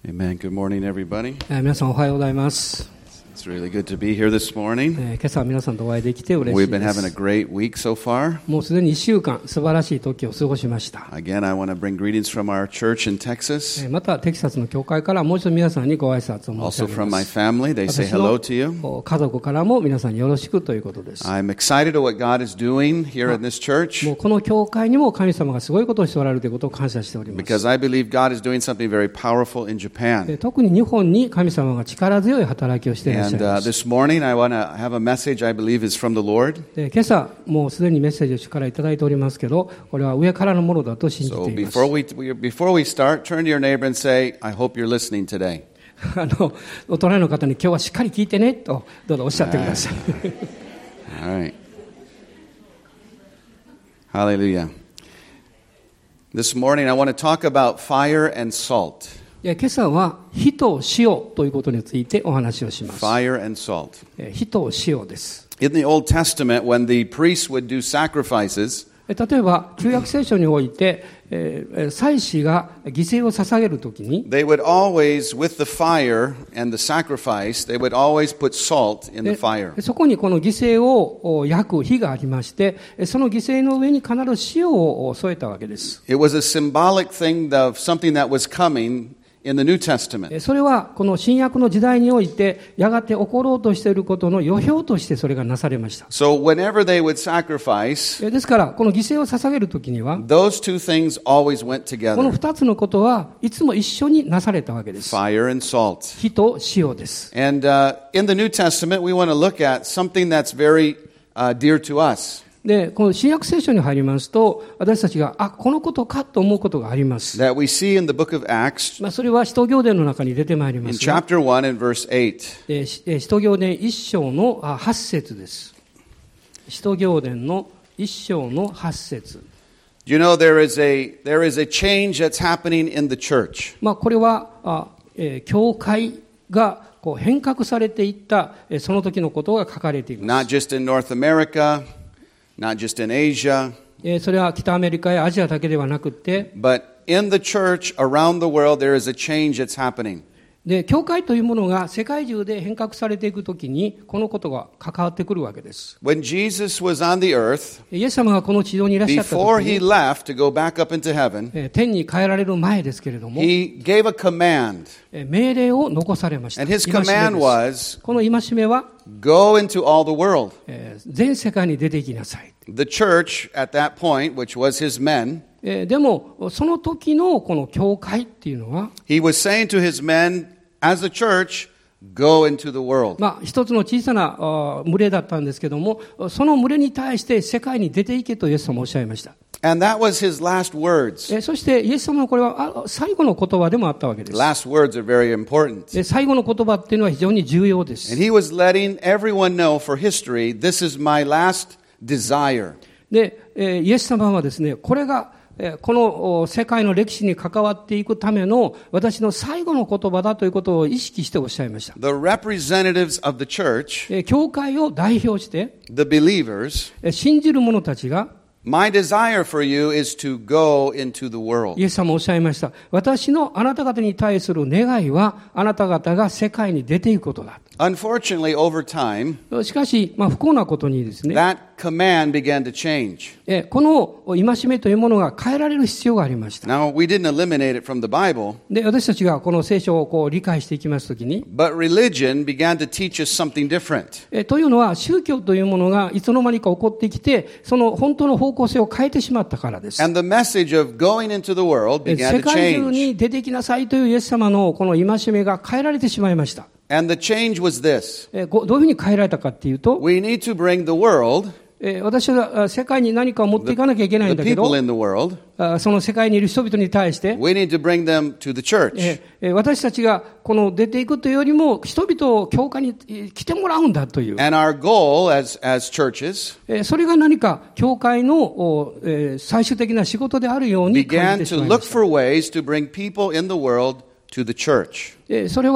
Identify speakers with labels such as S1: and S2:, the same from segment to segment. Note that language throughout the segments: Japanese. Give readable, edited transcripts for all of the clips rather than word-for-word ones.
S1: Amen. Good morning, everybody.
S2: 皆さんおはようございます。
S1: It's really good to be here this morning.
S2: 今朝は皆さんとお会いできて嬉し
S1: We've
S2: いで
S1: been having a
S2: す。
S1: great week so far.
S2: もうすでに1週間素晴らしい時を過ごしました。
S1: Again, I want to bring greetings from our church in Texas.
S2: またテキサスの教会からもう一度皆さんにご挨拶を申し
S1: Also
S2: 上げ
S1: from
S2: ま
S1: my
S2: す。
S1: family, they say
S2: 私
S1: hello
S2: の
S1: to you.
S2: 家族からも皆さんによろしくということです。
S1: I'm excited at what God is doing here in this church
S2: もうこの教会にも神様がすごいことをしておられるということを感謝しております。
S1: because I believe God is doing something very powerful in Japan.
S2: 特に日本に神様が力強い働きをしていらっしゃ
S1: And
S2: います。
S1: this morning, I want to have a message I believe is from the Lord.
S2: 今朝もうすでにメッセージを主からいただいておりますけど、これは上からのものだと信じ
S1: So
S2: ています。
S1: before we start, turn to your neighbor and say, I hope you're listening today.
S2: お隣の方に今日はしっかり聞いてねとどうぞおっしゃってください。
S1: All right. Hallelujah. This morning I want to talk about fire and salt.
S2: 今朝は火と塩ということについてお話をします。
S1: Fire and salt.
S2: 火と塩です。
S1: In the Old Testament, when the priests would do sacrifices,
S2: 例えば旧約聖書において、祭司が犠牲を捧げるときに
S1: they would always, with the fire and the sacrifice, they would always put salt in the fire.
S2: そこにこの犠牲を焼く火がありまして、その犠牲の上に必ず塩を添えたわけです。
S1: It was a symbolic thing of something that was coming in the New Testament.
S2: それはこの新約の時代においてやがて起ころうとしていることの予表としてそれがなされました。
S1: So whenever they would sacrifice,
S2: ですからこの犠牲を捧げるときには
S1: those two things always went
S2: この
S1: together.
S2: 二つのことはいつも一緒になされたわけです。
S1: Fire and salt.
S2: 火と塩です。
S1: And in the New Testament, we want to look at something that's very dear to us.
S2: で、この新約聖書に入りますと、私たちが、このことかと思うことがあります。
S1: That we see in the book of Acts,
S2: それは使徒行伝の中に出てまいりま
S1: in
S2: すが。
S1: chapter 1 and verse 8.
S2: 使徒行伝1章の8節です。使徒行伝の1章の8節。
S1: You know, there is a change that's happening in the church.
S2: これは、教会がこう変革されていった、その時のことが書かれていま
S1: Not just in North America, not just in Asia,
S2: す。それは北アメリカやアジアだけではなくて、
S1: but in the church around the world, there is a change that's happening.
S2: で、教会というものが世界中で変革されていくときに、このことが関わってくるわけです。
S1: When Jesus was on the earth,
S2: イエス様がこの地上にいらっしゃったと
S1: before
S2: き
S1: he
S2: に、
S1: left to go back up into heaven,
S2: 天に帰られる前ですけれども、
S1: he gave a command.
S2: 命令を残されました。
S1: And his
S2: 戒め
S1: command
S2: です。
S1: was,
S2: この戒めは、
S1: go into all the world.
S2: 全世界に出ていきなさい。
S1: The church at that point, which was his men,
S2: でも、その時のこの教会っていうのは、
S1: he was saying to his men, as a church, go into the world.
S2: 一つの小さな群れだったんですけども、その群れに対して世界に出ていけとイエス様おっしゃいました。
S1: And that was his last words.
S2: そしてイエス様のこれは最後の言葉でもあったわけです。
S1: Last words are very important.
S2: 最後の言葉っていうのは非常に重要です。
S1: And he was letting everyone know for history, this is my last desire.
S2: で、イエス様はですね、これがこの世界の歴史に関わっていくための私の最後の言葉だということを意識しておっしゃいました。
S1: The representatives of the church,
S2: 教会を代表して、
S1: the believers,
S2: 信じる者たちが、
S1: my desire for you is to go into the world.
S2: イエス様おっしゃいました。私のあなた方に対する願いは、あなた方が世界に出ていくことだ。
S1: Unfortunately, over time,
S2: しかし、不幸なことにですね、
S1: that command began to change.
S2: この戒めというものが変えられる必要がありました。
S1: Now, we didn't eliminate it from the Bible,
S2: で、私たちがこの聖書を理解していきますときに、
S1: but religion began to teach us something different.
S2: というのは宗教というものがいつの間にか起こってきて、その本当の方向性を変えてしまったからです。
S1: And the message of going into the world
S2: 世
S1: began to
S2: 界中
S1: change.
S2: に出てきなさいというイエス様のこの戒めが変えられてしまいました。
S1: And the change was this.
S2: どういうふうに変えられたかっていうと、
S1: We need to bring the world,
S2: 私は世界に何かを持っていかなきゃいけないん
S1: the
S2: だけど、
S1: people in the world,
S2: その世界にいる人々に対して、
S1: we need to bring them to the church.
S2: 私たちがこの出ていくというよりも、人々を教会に来てもらうんだという。
S1: And our goal as churches
S2: それが何か教会の最終的な仕事であるように感
S1: began
S2: じてし
S1: to
S2: まいま
S1: look
S2: した。
S1: for ways to bring people in the world to the church.
S2: それは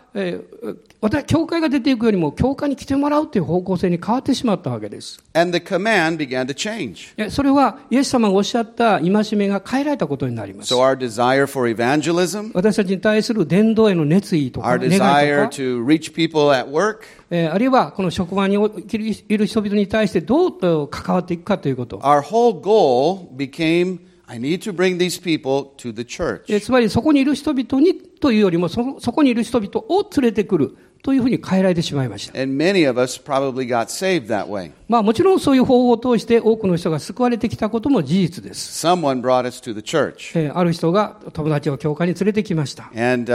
S2: 教会が出ていくよりも教会に来てもらうという方向性に変わってしまったわけです。
S1: And the command began to change.
S2: それはイエス様がおっしゃった戒めが変えられたことになります。
S1: So our desire for evangelism,
S2: 私たちに対する伝道への熱意とか
S1: our
S2: 願い
S1: desire
S2: とか、
S1: to reach people at work,
S2: あるいはこの職場にいる人々に対してどう関わっていくかということ。
S1: our whole goal became, I need to bring these people to the church.
S2: つまりそこにいる人々にというよりもそこにいる人々を連れてくるというふうに変えられてしまいました。
S1: And many of us probably got saved that way.
S2: もちろんそういう方法を通して多くの人が救われてきたことも事実です。
S1: Someone brought us to the church.
S2: ある人が友達を教会に連れてきました。
S1: And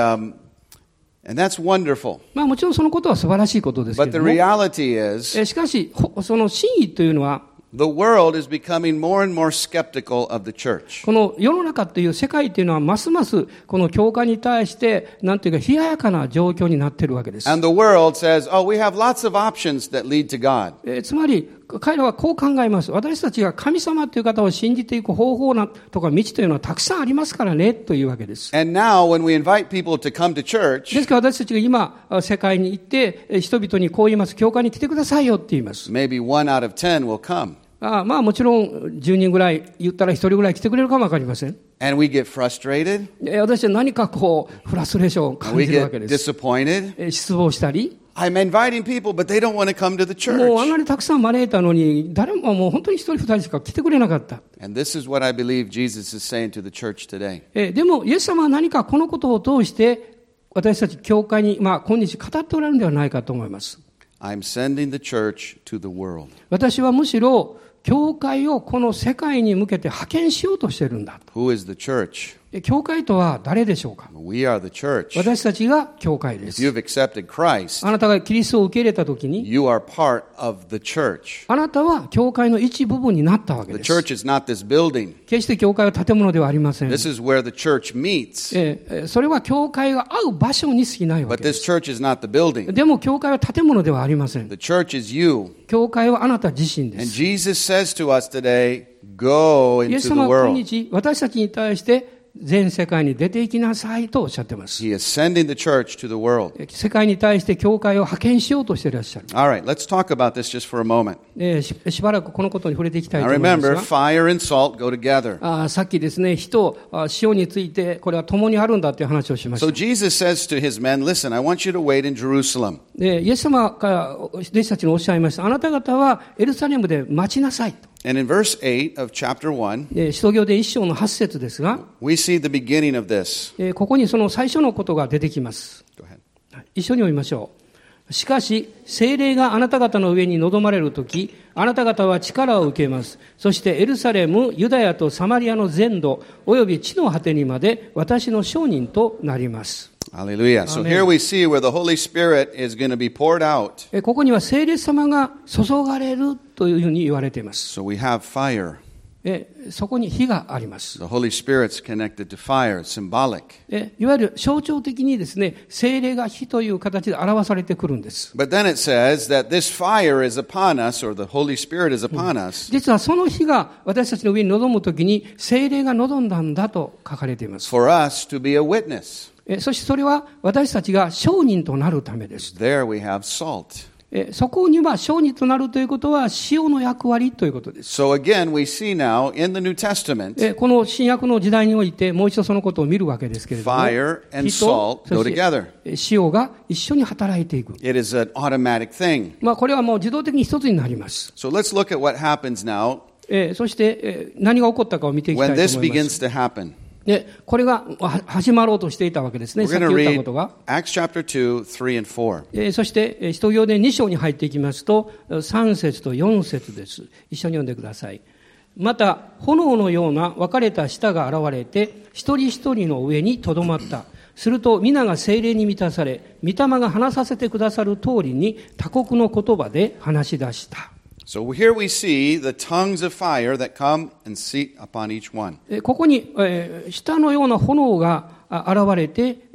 S1: that's wonderful.
S2: もちろんそのことは素晴らしいことですけ
S1: But
S2: れ
S1: the
S2: ども、
S1: reality is,
S2: しかしその真意というのは、
S1: the world is becoming more and more skeptical of the church.
S2: この世の中という世界というのはますますこの教会に対してなんていうか冷ややかな状況になっているわけです。
S1: And the world says, oh, we have lots of options that lead to God.
S2: つまり彼らはこう考えます。私たちが神様という方を信じていく方法とか道というのはたくさんありますからねというわけです。
S1: And now when we invite people to come to church,
S2: ですから私たちが今世界に行って人々にこう言います。教会に来てくださいよって言います。
S1: maybe 1 out of 10 will come.
S2: もちろん10人ぐらい言ったら1人ぐらい来てくれるかもわかりません。
S1: And we get frustrated.
S2: 私は何かフラストレーションを感
S1: We
S2: じるわ
S1: get
S2: けです。
S1: disappointed.
S2: 失望したり。
S1: I'm inviting people, but they don't want to come to the
S2: もうあん
S1: church.
S2: なにたくさん招いたのに誰ももう本当に1人2人しか来てくれなかった。
S1: And this is what I believe Jesus is saying to the church today.
S2: でもイエス様は何かこのことを通して私たち教会に今日語っておられるのではないかと思います。
S1: I'm sending the church to the world.
S2: 私はむしろ教会をこの世界に向けて派遣しようとしているんだ。
S1: Who is the church?
S2: 教会とは誰でしょうか。
S1: We are the church.
S2: 私たちが教会で
S1: If
S2: す。
S1: you've accepted Christ,
S2: あなたがキリストを受け入れたときに、
S1: you are part of the church.
S2: あなたは教会の一部分になったわけ
S1: The
S2: です。
S1: church is not this building.
S2: 決して教会は建物ではありません。
S1: This is where the church meets.
S2: それは教会が会う場所に過ぎないわ
S1: But
S2: けで
S1: this
S2: す。
S1: church is not the building.
S2: でも教会は建物ではありません。
S1: The church is you.
S2: 教会はあなた自身で
S1: And
S2: す。
S1: Jesus says to us today, go
S2: イエ
S1: into
S2: ス
S1: the
S2: 様は今
S1: world.
S2: 日私たちに対して全世界に出て行きなさいとおっしゃっています。
S1: He is sending the church to the world.
S2: 世界に対して教会を派遣しようとしていらっしゃる。
S1: All right, let's talk about this just for a moment.
S2: しばらくこのことに触れていきたい
S1: Now
S2: と思います
S1: remember,
S2: が、
S1: fire and salt go together.
S2: さっきですね、火と塩についてこれは共にあるんだという話をしまし
S1: So
S2: た。
S1: Jesus says to his men, listen, I want you to wait in Jerusalem.
S2: でイエス様が弟子たちにおっしゃいました。あなた方はエルサレムで待ちなさいと。
S1: And in verse 8 of chapter 1,
S2: 使徒行伝1章の8節ですが、
S1: we see the beginning of this.
S2: ここにその最初のことが出てきます。
S1: Go ahead.
S2: 一緒に読みましょう。しかし、聖霊があなた方の上に臨まれるとき、あなた方は力を受けます。そしてエルサレム、ユダヤとサマリアの全土、および地の果てにまで私の証人となります。
S1: Hallelujah. So
S2: Amen.
S1: here we see where the Holy Spirit is going to be poured out.
S2: ここには聖霊様が注がれるというふうに言われています。
S1: So we have fire.
S2: そこに火があります。
S1: The Holy Spirit's connected to fire, symbolic.
S2: いわゆる象徴的にですね、聖霊が火という形で表されてくるんです。
S1: But then it says that this fire is upon us, or the Holy Spirit is upon us,
S2: 実はその火が私たちの上に臨むときに聖霊が臨んだんだと書かれています。
S1: for us to be a witness.
S2: そしてそれは私たちが証人となるためです。
S1: There we have salt.
S2: そこには証人となるということは塩の役割ということです。
S1: So again, we see now in the New Testament,
S2: この新約の時代においてもう一度そのことを見るわけですけれども、
S1: fire and
S2: 火と
S1: salt go
S2: そして
S1: together.
S2: 塩が一緒に働いていく。
S1: It is an automatic thing.
S2: これはもう自動的に一つになります。
S1: So let's look at what happens now
S2: そして、何が起こったかを見ていきたい
S1: when
S2: と
S1: this
S2: 思います。
S1: begins to happen.
S2: これが始まろうとしていたわけですね。
S1: We're
S2: さっ
S1: going
S2: き
S1: to
S2: 言った
S1: read
S2: ことが。
S1: Acts chapter 2, 3 and 4.
S2: そして、使徒行伝2章に入っていきますと、3節と4節です。一緒に読んでください。また、炎のような分かれた舌が現れて、一人一人の上にとどまった。すると、皆が聖霊に満たされ、御霊が話させてくださる通りに、他国の言葉で話し出した。
S1: So here we see the tongues of fire that come and seat upon each one.
S2: ここに、舌のような炎が現れて、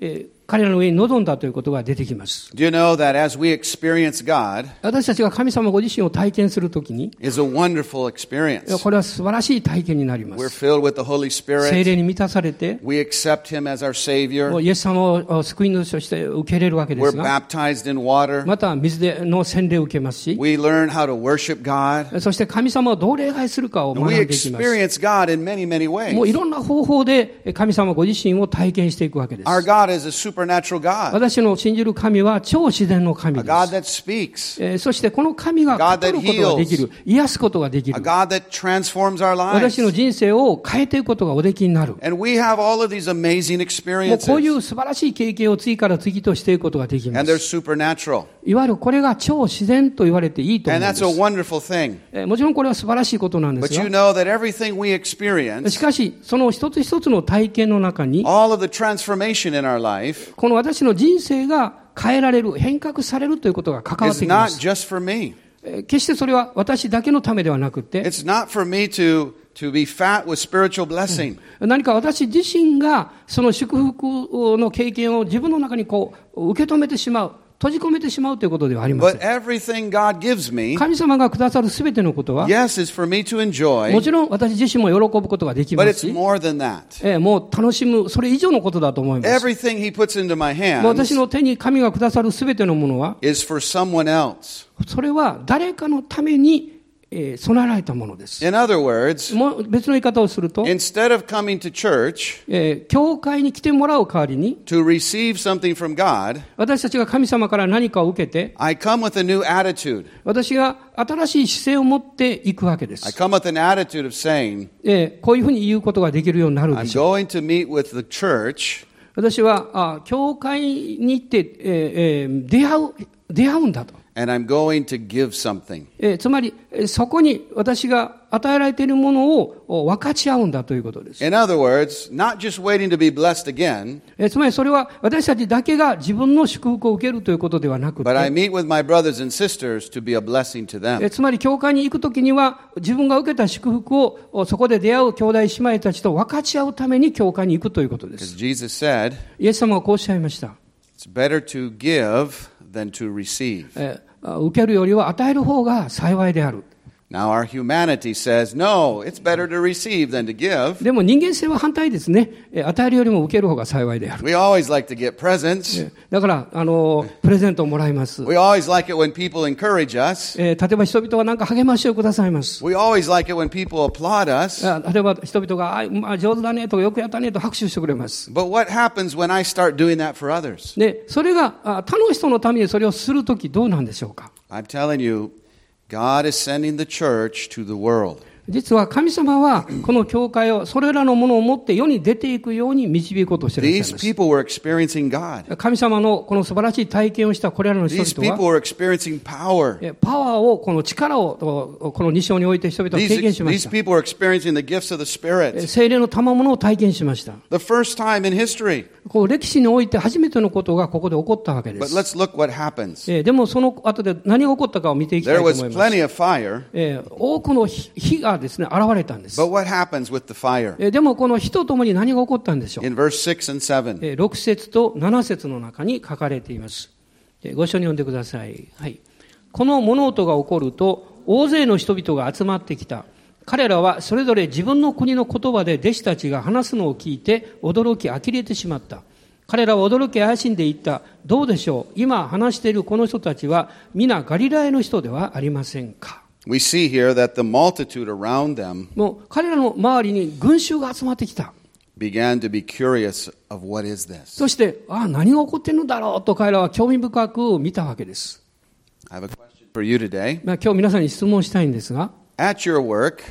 S2: 彼らの上に臨んだということが出てきます。
S1: Do you know that as we experience God,
S2: 私たちが神様ご自身を体験するときに、
S1: is a wonderful experience.
S2: これは素晴らしい体験になりま
S1: We're
S2: す。
S1: filled with the Holy
S2: 聖霊
S1: Spirit.
S2: に満たされて、
S1: We accept Him as our Savior.
S2: イエス様を救い主として受け入れるわけで
S1: We're
S2: すが、
S1: baptized in water.
S2: また水での洗礼を受けますし、
S1: We learn how to worship God.
S2: そして神様をどう礼拝するかを
S1: And
S2: 学ん
S1: we
S2: でいきます。
S1: experience God in many, many
S2: もうい
S1: ways.
S2: ろんな方法で神様ご自身を体験していくわけです。
S1: Our God is a supernatural God,
S2: 私の信じる神は超自然の神
S1: a
S2: で
S1: God
S2: す。
S1: that speaks,
S2: そしてこの神が
S1: God that
S2: 語ることができる、癒すことができ
S1: a
S2: る、
S1: God that transforms our
S2: 私の
S1: lives.
S2: 人生を変えていくことがおできになる。
S1: And we have all of these amazing
S2: もうこうい
S1: experiences.
S2: う素晴らしい経験を次から次としていくことができま
S1: And they're
S2: す。
S1: supernatural.
S2: いわゆるこれが超自然と言われていいと思うん
S1: And
S2: で
S1: that's a
S2: す。
S1: wonderful thing.
S2: もちろんこれは素晴らしいことなんで
S1: But
S2: す
S1: you
S2: が、
S1: know that everything we
S2: し
S1: experience,
S2: かしその一つ一つの体験の中に、
S1: all of the transformation in our life,
S2: この私の人生が変えられる、変革されるということが関わっ
S1: is
S2: てきま
S1: not
S2: す。
S1: just for me.
S2: 決してそれは私だけのためではなくて、
S1: It's not for me to be fat with spiritual blessing.
S2: 何か私自身がその祝福の経験を自分の中にこう受け止めてしまう、閉じ込めてしまうということではありませ
S1: But
S2: ん。
S1: everything God gives me,
S2: 神様がくださるすべてのことは、
S1: yes, is for me to
S2: も
S1: enjoy,
S2: ちろん私自身も喜ぶことができ
S1: but
S2: ます
S1: it's
S2: し、
S1: more than that.
S2: もう楽しむ、それ以上のことだと思います。
S1: Everything He puts into my
S2: もう私
S1: hands
S2: の手に神がくださるすべてのものは、
S1: is for someone else.
S2: それは誰かのために備えられたものです。
S1: In other words,
S2: もう別の言い方をすると、
S1: instead of coming to church
S2: 教会に来てもらう代わりに、
S1: to receive something from God,
S2: 私たちが神様から何かを受けて、
S1: I come with a new attitude.
S2: 私が新しい姿勢を持っていくわけで
S1: I
S2: す。
S1: come with an attitude of saying,
S2: こういうふうに言うことができるようになるで
S1: I'm
S2: しょう。
S1: going to meet with the church
S2: 私は教会に行って、出会うんだと。
S1: and I'm going to give something.
S2: つまり、そこに私が与えられているものを分かち合うんだということです。
S1: In other words, not just waiting to be blessed again,
S2: つまりそれは私たちだけが自分の祝福を受けるということではなく
S1: but I
S2: て、
S1: meet with my brothers and sisters to be a blessing to them.
S2: つまり教会に行くときには自分が受けた祝福をそこで出会う兄弟姉妹たちと分かち合うために教会に行くということで
S1: Because
S2: す。
S1: Jesus said,
S2: イエス様はこうおっしゃいました。
S1: it's better to give than to receive.
S2: 受けるよりは与える方が幸いである。
S1: Now our humanity says, no, it's better to receive than to give.
S2: でも人間性は反対ですね。与えるよりも受ける方が幸いである。
S1: We always like to get presents.
S2: だからプレゼントをもらいます。
S1: We always like it when people encourage us.
S2: 例えば人々は何か励ましをくださいます。
S1: We always like it when people applaud us.
S2: 例えば人々が上手だねとかよくやったねと拍手してくれます。
S1: But what happens when I start doing that for others?
S2: で、それが他の人のためにそれをするときどうなんでしょうか。
S1: I'm telling you, God is sending the church to the world.
S2: 実は神様はこの教会をそれらのものを持って世に出ていくように導こうとしていらっしゃい
S1: These
S2: ます。
S1: people were experiencing God.
S2: 神様のこの素晴らしい体験をしたこれらの人
S1: These
S2: 々
S1: people
S2: は
S1: were experiencing power.
S2: パワーを、この力をこの2章において人々は経験しまし
S1: These
S2: た。
S1: people were experiencing the gifts of the Spirit.
S2: 聖霊の賜物を体験しました。
S1: The first time in history.
S2: こう歴史において初めてのことがここで起こったわけで
S1: But
S2: す。
S1: let's look what happens.
S2: でもその後で何が起こったかを見ていきたい
S1: There
S2: と
S1: was
S2: 思います。
S1: plenty of fire.
S2: 多くの火がですね、現れたんです。
S1: But what happens with the fire?
S2: でもこの火とともに何が起こったんでしょう。
S1: In verse 6 and 7.
S2: 6節と7節の中に書かれています。ご一緒に読んでください。はい。この物音が起こると、大勢の人々が集まってきた。彼らはそれぞれ自分の国の言葉で弟子たちが話すのを聞いて驚き呆れてしまった。彼らは驚き怪しんでいった。どうでしょう。今話しているこの人たちは皆ガリラヤの人ではありませんか。
S1: We see here that the multitude around them
S2: もう彼らの周りに群衆が集まってきた。
S1: began to be curious of what is this.
S2: そして、何が起こっているのだろうと彼らは興味深く見たわけです。
S1: I have a question for you today.
S2: 今日皆さんに質問したいんですが、
S1: At your work,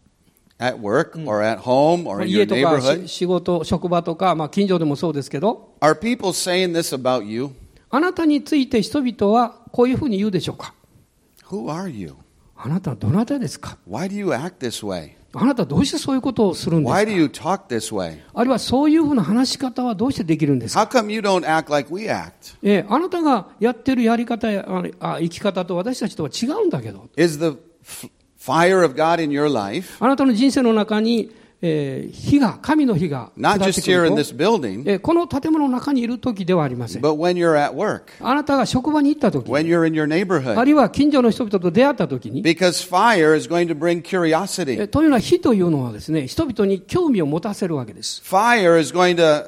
S1: or at home, or in
S2: 家
S1: your
S2: とか
S1: neighborhood,
S2: 仕事、職場とか、近所でもそうですけど、
S1: are people saying this about you?
S2: あなたについて人々はこういうふうに言うでしょうか。
S1: Who are you?
S2: あなたはどなたですか。
S1: Why do you act this way?
S2: あなたはどうしてそういうことをするんですか。
S1: Why do you talk this way?
S2: あるいはそういうふうな話し方はどうしてできるんですか。
S1: How come you don't act like we act?
S2: あなたがやってるやり方や生き方と私たちとは違うんだけど。
S1: Is the fire of God in your life
S2: あなたの人生の中に神の火が
S1: Not
S2: 下って
S1: just
S2: く
S1: here
S2: る
S1: in
S2: と
S1: this building,
S2: この建物の中にいる時ではありません。
S1: but when you're at work,
S2: あなたが職場に行った時
S1: when you're in your
S2: あ
S1: neighborhood.
S2: るいは近所の人々と出会った時に
S1: Because fire is going to bring curiosity.
S2: というのは火というのはですね、人々に興味を持たせるわけです。
S1: Fire is going to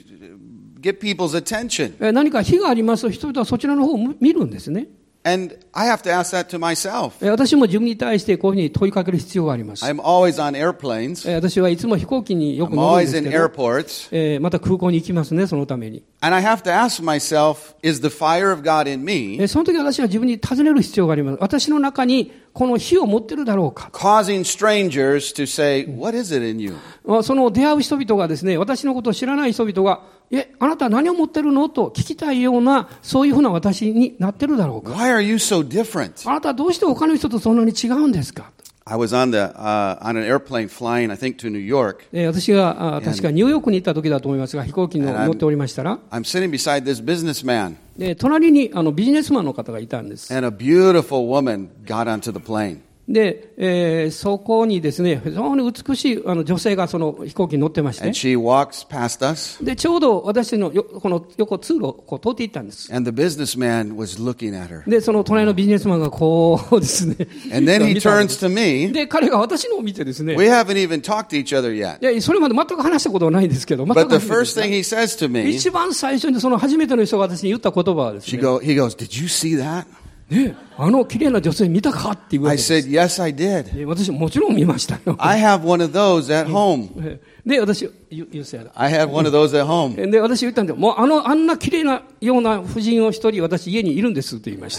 S1: get people's attention.
S2: 何か火がありますと人々はそちらの方を見るんですね。
S1: And I have to ask that to myself.
S2: 私も自分に対してこういうふうに問いかける必要があります。
S1: I'm always on airplanes.
S2: 私はいつも飛行機によく
S1: I'm
S2: 乗るんで
S1: always
S2: す
S1: in
S2: けど、
S1: airports.
S2: また空港に行きますね、そのために。
S1: And I have to ask myself, is the fire of God in me
S2: その時私は自分に尋ねる必要があります。私の中にこの火を持ってるだろうか。
S1: causing strangers to say, what is it in you?
S2: その出会う人々がですね、私のことを知らない人々が、あなたは何を持ってるのと聞きたいような、そういうふうな私になってるだろうか。
S1: Why are you so different?
S2: あなたはどうして他の人とそんなに違うんですか。
S1: I was on an airplane flying, I think, to New York.
S2: 私が確かニューヨークに行った時だと思いますが、飛行機に乗っておりましたら、
S1: I'm sitting beside this businessman,
S2: 隣にビジネスマンの方がいたんです。
S1: and a beautiful woman got onto the plane.
S2: で、そこにですね、非常に美しい女性がその飛行機に乗ってまして、
S1: And she walks past us,
S2: で、ちょうど私のこの横通路をこう通っていったんです。
S1: and the businessman was looking at her.
S2: で、その隣のビジネスマンがこうですね、
S1: And then he
S2: 見たんで
S1: turns
S2: す
S1: to me.
S2: で、彼が私のを見てですね、
S1: We haven't even talked to each other yet.
S2: いや、それまで全く話したことはないんですけど、全く
S1: But the
S2: 初めてです
S1: first thing he says to me,
S2: 一番最初にその初めての人が私に言った言葉はですね、
S1: he goes, did you see that?
S2: ね、綺麗な女性見たかっていうわ
S1: I
S2: けです。
S1: said, yes, I did.
S2: で私もちろん見ましたよ。
S1: I have one of those at home.
S2: で、私、言うせやだ。
S1: I have one of those at home.
S2: で、私言ったんで、もうあんな綺麗なような婦人を一人私家にいるんですって言いました。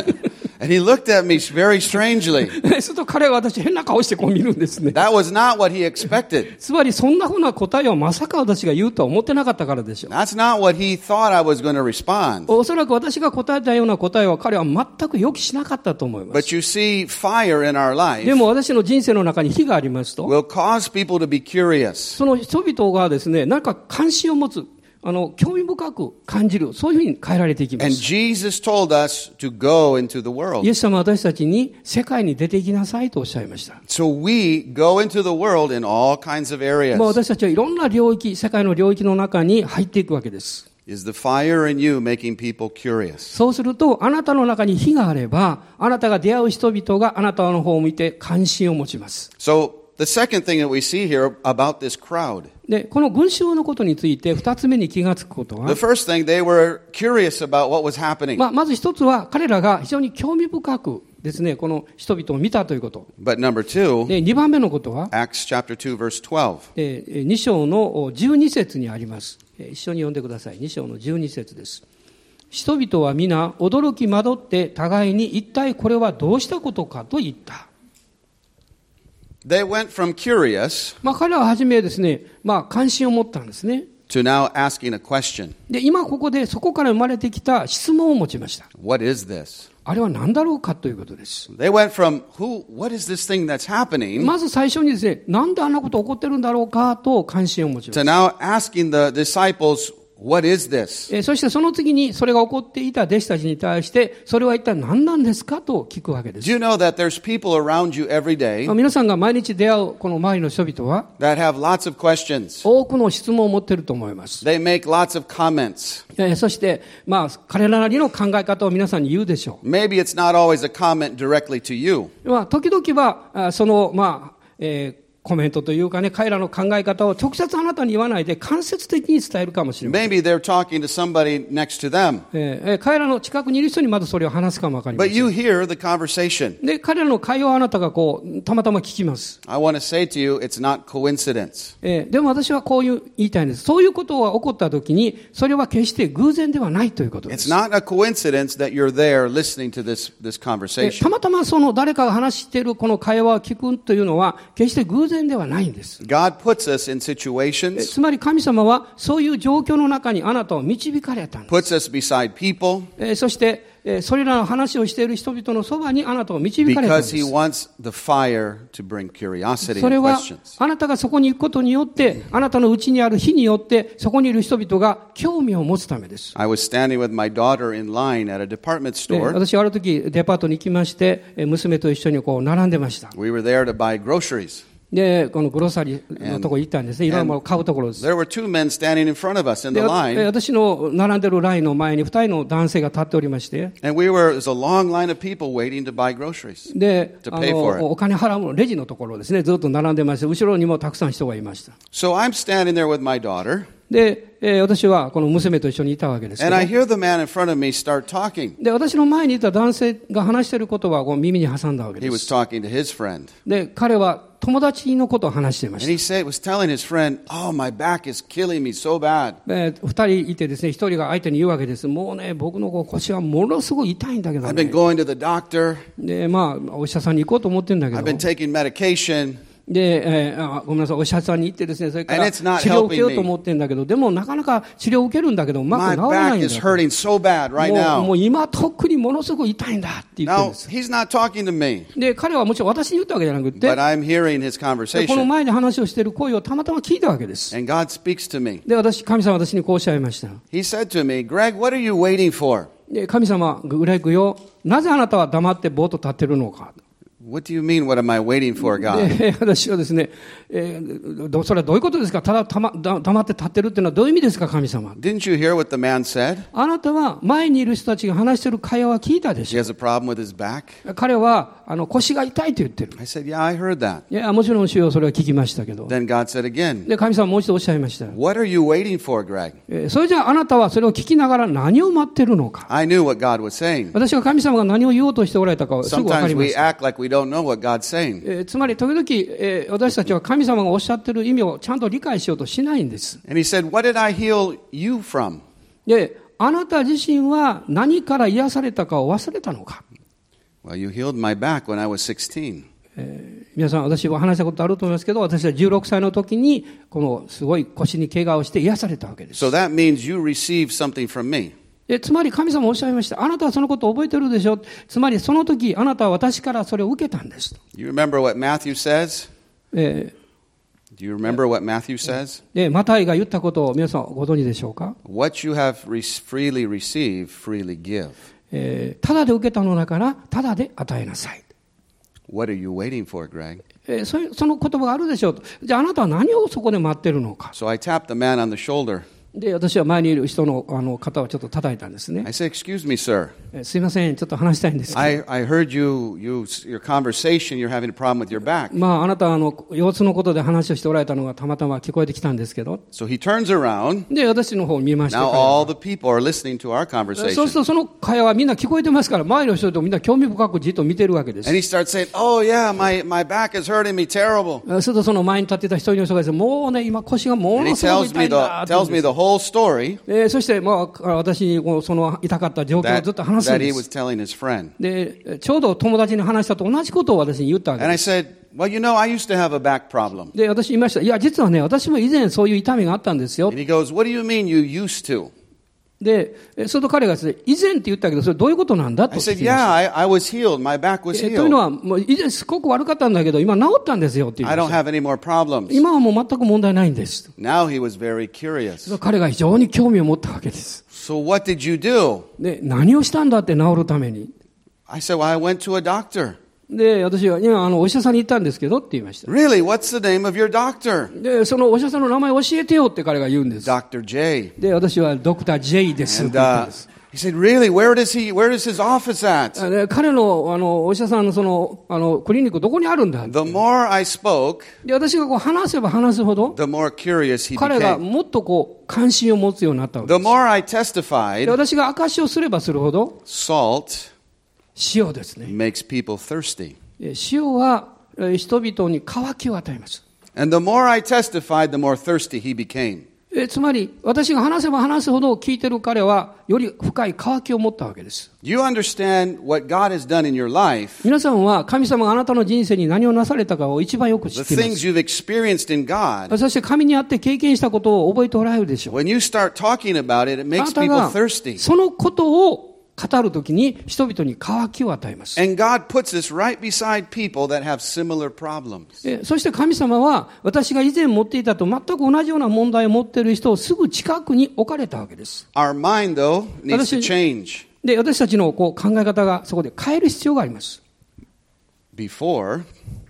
S1: And he looked at me very strangely.
S2: すると彼は私変な顔してこう見るんですね。
S1: That was not what he expected.
S2: つまりそんなふうな答えをまさか私が言うとは思ってなかったからでしょう。
S1: That's not what he thought I was going to respond.
S2: おそらく私が答えたような答えは彼は全く予期しなかったと思います。
S1: But you see, fire in our
S2: で
S1: life
S2: も私の人生の中に火がありますと、
S1: will cause people to be curious.
S2: その人々がですね、なんか関心を持つ、興味深く感じる、そういうふうに変えられていきま
S1: And
S2: す。
S1: Jesus told us to go into the
S2: イ
S1: world.
S2: エス様は私たちに世界に出ていきなさいとおっしゃいました。
S1: So we go into the world in all kinds of areas.
S2: 私たちはいろんな領域、世界の領域の中に入っていくわけです。
S1: Is the fire in you making people curious?
S2: そうすると、あなたの中に火があれば、あなたが出会う人々があなたの方を見て関心を持ちます。
S1: So the second thing that we see here about this crowd.
S2: で、この群衆のことについて二つ目に気がつくことは、
S1: The first thing, they were curious about what was happening.
S2: まず一つは彼らが非常に興味深くですね、この人々を見たということ。
S1: But number two,
S2: で、二番目のことは、
S1: Acts chapter 2 verse 12.
S2: 2章の12節にあります。一緒に読んでください。2章の12節です。人々は皆驚き惑って互いに一体これはどうしたことかと言った。
S1: They went from curious
S2: 彼らは初めですね、関心を持ったんですね。
S1: to now asking a question.
S2: で、今ここでそこから生まれてきた質問を持ちました。
S1: What is this?
S2: あれは何だろうかということです。
S1: They went from, what is this thing that's happening?
S2: まず最初にですね、なんであんなこと起こってるんだろうかと関心を持ちまし
S1: To
S2: た。
S1: now asking the disciples, what is this?
S2: そしてその次にそれが起こっていた弟子たちに対して、それは一体何なんですかと聞くわけで
S1: Do
S2: す。
S1: you know that there's people around you every day
S2: 皆さんが毎日出会うこの周りの人々は、
S1: that have lots of questions?
S2: 多くの質問を持っていると思います。
S1: They make lots of comments.
S2: そして、彼らなりの考え方を皆さんに言うでしょ
S1: Maybe it's not always a comment directly to you.
S2: う。時々は、その、コメントというかね、彼らの考え方を直接あなたに言わないで間接的に伝えるかもしれません。
S1: Maybe they're talking to somebody next to them.
S2: 彼らの近くにいる人にまずそれを話すかもわかりませ
S1: But
S2: ん。
S1: you hear the conversation.
S2: で、彼らの会話をあなたがたまたま聞きます。
S1: I want to say to you, it's not coincidence.
S2: でも私はこう言いたいんです。そういうことが起こったときに、それは決して偶然ではないということで
S1: It's
S2: す。
S1: not a coincidence that you're there listening to this
S2: た
S1: conversation.
S2: またまその誰かが話しているこの会話を聞くというのは、決して偶然ではないんです。
S1: God puts us in situations,
S2: つまり神様はそういう状況の中にあなたを導かれたんです。
S1: puts us beside people
S2: そして、それらの話をしている人々のそばにあなたを導かれたん
S1: because
S2: で
S1: He
S2: す。
S1: wants the fire to bring curiosity
S2: それ
S1: and
S2: は
S1: questions.
S2: あなたがそこに行くことによって、あなたのうちにある火によって、そこにいる人々が興味を持つためです。
S1: I was standing with my daughter in line at a department
S2: で
S1: store.
S2: 私はある時デパートに行きまして、娘と一緒にこう並んでました。
S1: We were there to buy groceries.
S2: で、このグロッサリーのところに行ったんですね。いろんなものを買うところです。
S1: There were two men standing in front of us in the
S2: で、
S1: line.
S2: 私の並んでるラインの前に2人の男性が立っておりまして、
S1: And there was a long line of people waiting to buy groceries.
S2: で、
S1: To pay for it.
S2: お金払うのレジのところですね、ずっと並んでまして、後ろにもたくさん人がいました。
S1: So I'm standing there with my daughter.
S2: で、私はこの娘と一緒にいたわけですけ
S1: And
S2: ど、
S1: I hear the man in front of me start talking.
S2: で、私の前にいた男性が話している言葉を耳に挟んだわけ
S1: He
S2: で
S1: was
S2: す。
S1: talking to his friend.
S2: で、彼は友達のことを話していま
S1: And
S2: し
S1: he was telling his friend, "Oh, my back is killing me so bad.
S2: た。で、2人いてですね、1人が相手に言うわけです。もうね、僕の腰はものすごい痛いんだけど
S1: I've been
S2: ね。
S1: going to the doctor.
S2: で、まあ、お医者さんに行こうと思ってるんだけ
S1: I've
S2: ど
S1: been。taking medication.
S2: で、ごめんなさい、お医者さんに行ってですね、それから
S1: And
S2: 治
S1: it's not
S2: 療を受けよう
S1: helping
S2: と思ってるんだけど、でもなかなか治療を受けるんだけど、うま
S1: My
S2: く治らない
S1: back
S2: ん
S1: is
S2: だ。
S1: hurting so bad right
S2: も
S1: now."
S2: う今特にものすごい痛いんだって言ってるん
S1: Now,
S2: です。
S1: he's not talking to me,
S2: で、彼はもちろん私に言ったわけじゃなくて、
S1: but I'm hearing his
S2: でこの
S1: conversation.
S2: 前で話をしている声をたまたま聞いたわけです。
S1: And God speaks to me.
S2: で、神様は私にこうおっしゃいました。
S1: He said to me, "Greg, what are you waiting for?"
S2: で、神様、グレッグよ、なぜあなたは黙ってぼーっと立ってるのか。
S1: What do you mean, what am I waiting for, God?
S2: で、私はですね、それはどういうことですか。ただ黙って立ってるっていうのはどういう意味ですか、神様。
S1: Didn't you hear what the man said?
S2: あなたは前にいる人たちが話している会話は聞いたで
S1: He
S2: しょ。
S1: has a problem with his back?
S2: 彼は腰が痛いと言ってる。
S1: I said, "Yeah, I heard that."
S2: いや、もちろん主よ、それは聞きましたけど。
S1: Then God said again,
S2: で、神様もう一度おっしゃいました。
S1: "What are you waiting for, Greg?"
S2: それじゃああなたはそれを聞きながら何を待ってるのか。
S1: I knew what God was saying.
S2: 私は神様が何を言おうとしておられたかをすぐ分か
S1: Sometimes
S2: りま
S1: we
S2: した。
S1: act like we don't know what God's saying.
S2: つまり時々、私たちは神様がおっしゃってる意味をちゃんと理解しようとしないんです。
S1: And he said, "What did I heal you from?"
S2: で、あなた自身は何から癒されたかを忘れたのか。
S1: Well, you healed my back when I was 16.
S2: 皆さん、私は話したことあると思いますけど、私は16歳の時にこのすごい腰に怪我をして癒されたわけです。
S1: So that means you received something from me.
S2: つまり神様おっしゃいました。あなたはそのことを覚えてるでしょ。つまりその時あなたは私からそれを受けたんです。
S1: You remember what Matthew says?
S2: で、
S1: Do you remember what Matthew says?
S2: マタイが言ったことを皆さんご存知でしょうか。
S1: What you have freely received, freely give.
S2: ただで受けたのだからただで与えなさい。
S1: What are you waiting for, Greg?
S2: その言葉があるでしょうと。じゃああなたは何をそこで待ってるのか。
S1: So I tapped the man on the shoulder.
S2: で、私は前にいる人の肩をちょっと叩いたんですね。
S1: I said, "Excuse me, sir.
S2: すいません、ちょっと話したいんですけど。
S1: I heard your conversation, you're having a problem with your back."
S2: あなたは腰痛のことで話をしておられたのがたまたま聞こえてきたんですけど。
S1: So he turns around.
S2: で、私の方を見まして。
S1: Now all the people are listening to our
S2: そうする
S1: conversation.
S2: とその会話はみんな聞こえてますから、周りの人とみんな興味深くじっと見てるわけです。
S1: And he starts saying, "Oh yeah, my back is hurting me terrible."
S2: するとその前に立ってた一人の人がですね、もうね、今腰がも
S1: And he
S2: のすごく
S1: tells
S2: 痛
S1: me
S2: いんだって言うん
S1: tells
S2: で
S1: me
S2: す。
S1: the whole story
S2: そして、私にその痛かった状況をずっと話すん
S1: that
S2: で
S1: he was
S2: す。
S1: telling his friend.
S2: で、ちょうど友達に話したと同じことを私に言ったわけ
S1: And
S2: で
S1: I
S2: す。
S1: said, "Well, you know, I used to have a back problem."
S2: で、私言いました。いや、実はね、私も以前そういう痛みがあったんですよ
S1: And。he goes, "What do you mean you used to?"
S2: で、それと彼がですね、以前って言ったけど、それどういうことなんだと
S1: I
S2: 聞
S1: said,
S2: きました。
S1: "Yeah, I was healed. My back was
S2: というの
S1: healed.
S2: は、もう以前すごく悪かったんだけど、今治ったんですよって言
S1: I
S2: いま
S1: don't
S2: した。
S1: have any more problems."
S2: 今はもう全く問題ないんです。
S1: Now he was very curious.
S2: 彼が非常に興味を持ったわけです。
S1: So what did you do?
S2: で、何をしたんだって治るために。
S1: I said, "Well, I went to a doctor."
S2: で、私は今お医者さんに行ったんですけどって言いました。
S1: "Really? What's the name of your doctor?"
S2: で、そのお医者さんの名前教えてよって彼が言うんです。
S1: Dr. J.
S2: で、私はドクター J ですって
S1: And
S2: 言ったんです。
S1: he said, "Really? Where does his office at?"
S2: で、彼のお医者さんのクリニックどこにあるんだって。
S1: The more I spoke,
S2: で、私が話せば話すほど、
S1: the more curious he
S2: 彼が
S1: became.
S2: もっと関心を持つようになったわけ
S1: The
S2: です。
S1: more I
S2: で、
S1: testified,
S2: 私が証しをすればするほど、
S1: salt
S2: 塩ですね。
S1: makes people thirsty.
S2: 塩は人々に渇きを与えます。
S1: And the more I testified, the more thirsty he became.
S2: つまり、私が話せば話すほど聞いてる彼は、より深い渇きを持ったわけです。
S1: Do you understand what God has done in your life?
S2: 皆さんは神様があなたの人生に何をなされたかを一番よく知
S1: The
S2: っていま
S1: things
S2: す。
S1: you've experienced in God.
S2: そして神にあって経験したことを覚えておられるでしょう。
S1: When you start talking about it, it
S2: あ
S1: makes
S2: なた
S1: people
S2: が
S1: thirsty.
S2: そのことを語るときに人々に渇きを与えます。
S1: And God puts us right beside people that have similar problems.
S2: そして神様は私が以前持っていたと全く同じような問題を持っている人をすぐ近くに置かれたわけです。
S1: Our mind, though, needs to change.
S2: で、私たちの考え方がそこで変える必要があります。
S1: Before,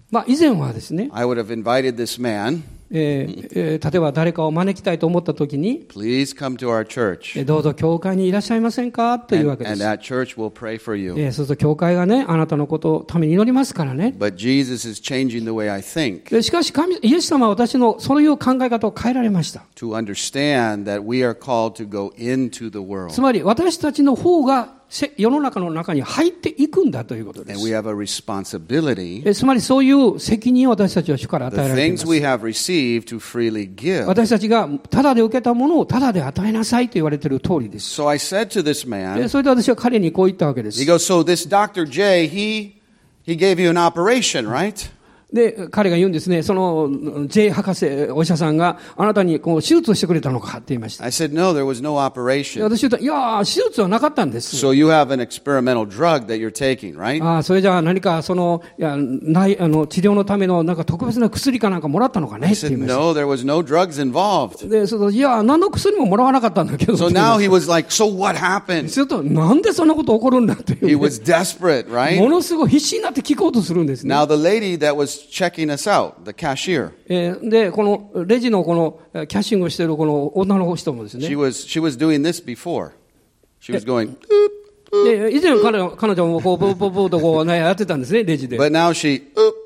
S2: 以前はですね、
S1: I would have invited this man,
S2: 例えば誰かを招きたいと思ったときに、
S1: please come to our church,
S2: どうぞ教会にいらっしゃいませんかというわけで
S1: and
S2: す。
S1: that church will pray for you.
S2: そうすると教会がね、あなたのことをために祈りますからね。
S1: But Jesus is changing the way I think
S2: でしかしイエス様は私のそういう考え方を変えられました。
S1: to understand that we are called to go into the
S2: つ
S1: world.
S2: まり私たちの方が世の中の中に入っていくんだということで
S1: And we
S2: す。
S1: have a responsibility,
S2: つまりそういう責任を私たちは主から与
S1: the
S2: えられていま
S1: things
S2: す。
S1: we have received to freely give.
S2: 私たちがタダで受けたものをタダで与えなさいと言われている通りです。
S1: So I said to this man,
S2: それで私は彼にこう言ったわけです。
S1: he goes, so this Dr. J, he gave you an operation, right?
S2: で、彼が言うんですね、その J 博士、お医者さんがあなたにこう手術をしてくれたのかって言いました。
S1: I said, no, there was no
S2: で
S1: operation.
S2: 私言った、いや、手術はなかったんです。
S1: So you have an experimental drug that you're taking, right?
S2: それじゃあ何かその、治療のためのなんか特別な薬かなんかもらったのかね
S1: I
S2: って言い
S1: said,
S2: ました。
S1: no, there was no drugs involved.
S2: で、いや、何の薬ももらわなかったんだけど。
S1: So now he was like, so what happened?
S2: すると、なんでそんなこと起こるんだっていうね、
S1: He was desperate,
S2: も
S1: right?
S2: のすごい必死になって聞こうとするんですね。
S1: Now the lady that was checking us out, the cashier,
S2: で、このレジのこのキャッシングをしているこの女の人もですね。
S1: she was doing this before. She was going,
S2: で、以前彼女もこう、ブーブーブーとこうね、やってたんですね、レジで。
S1: but now she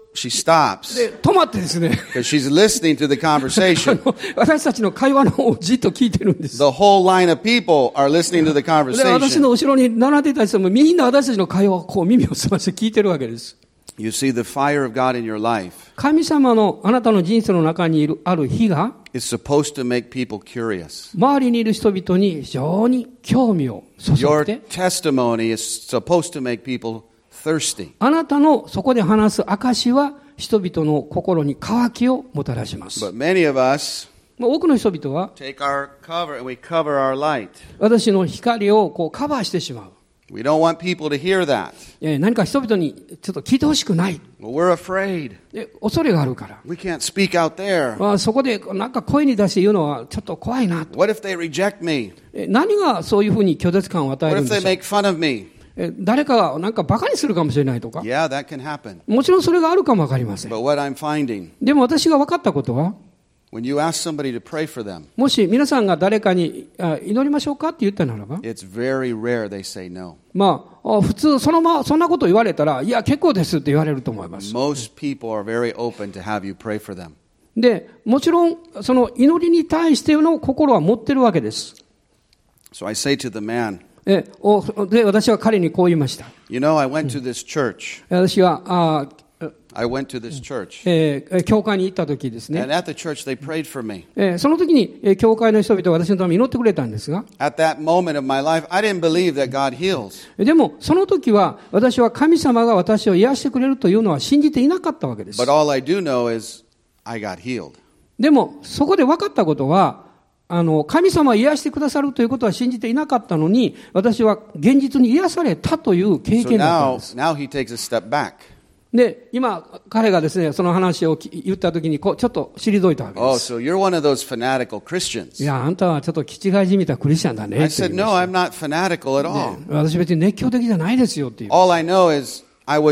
S1: stops
S2: で、止まってですね、
S1: because she's listening to the conversation.
S2: 私たちの会話の方をじっと聞いてるんです。
S1: The whole line of people are listening to the
S2: で、私
S1: conversation.
S2: の後ろに並んでいた人もみんな私たちの会話をこう耳を澄まして聞いてるわけです。
S1: You see, the fire of God in your life
S2: 神様のあなたの人生の中にある火が、
S1: is supposed to make people curious.
S2: 周りにいる人々に非常に興味を注
S1: Your
S2: いで、
S1: testimony is supposed to make people thirsty.
S2: あなたのそこで話す証は人々の心に渇きをもたらします。
S1: But many of us
S2: 多くの人々は
S1: take our cover and we cover our light.
S2: 私の光をこうカバーしてしまう。
S1: We don't want people to hear that.
S2: 何か人々にちょっと聞いてほしくない。
S1: Well, we're afraid.
S2: 恐れがあるから。
S1: We can't speak out there.
S2: そこでなんか声に出して言うのはちょっと怖いなと。
S1: What if they reject me?
S2: 何がそういうふうに拒絶感を与え
S1: What
S2: るん
S1: if
S2: で
S1: they
S2: しょう。
S1: make fun of me?
S2: 誰かがなんかバカにするかもしれないとか。
S1: Yeah, that can happen.
S2: もちろんそれがあるかもわかりません。
S1: But what I'm finding,
S2: でも私が分かったことは、
S1: when you ask somebody to pray for them,
S2: もし皆さんが誰かに祈りましょうかって言ったならば、
S1: it's very rare they say no.
S2: 普通そんなこと言われたら、いや結構ですって言われると思います。
S1: Most people are very open to have you pray for them.
S2: で、もちろんその祈りに対しての心は持ってるわけです。
S1: So I say to the man,
S2: で、私は彼にこう言いました。
S1: you know, I went to this church.
S2: 私は
S1: I went to this church.
S2: 教会に行った時ですね。
S1: And at the church, they prayed for me.
S2: その時に教会の人々は私のために祈ってくれたんですが、
S1: At that moment of my life, I didn't believe that God heals.
S2: でもその時は私は神様が私を癒してくれるというのは信じていなかったわけです。
S1: But all I do know is I got healed.
S2: でもそこで分かったことは、神様を癒してくださるということは信じていなかったのに、私は現実に癒されたという経
S1: So
S2: 験だったんです。
S1: now he takes a step back.
S2: で、今、彼がですね、その話を言ったときに、ちょっと退いたわけで
S1: Oh,
S2: す。
S1: so you're one of those fanatical Christians.
S2: いや、あんたはちょっと気違いじみたクリスチャンだね
S1: I
S2: って言
S1: said,
S2: いま
S1: no,
S2: した。
S1: I'm not fanatical at all.
S2: 私別に熱狂的じゃないですよっていう。
S1: All I know is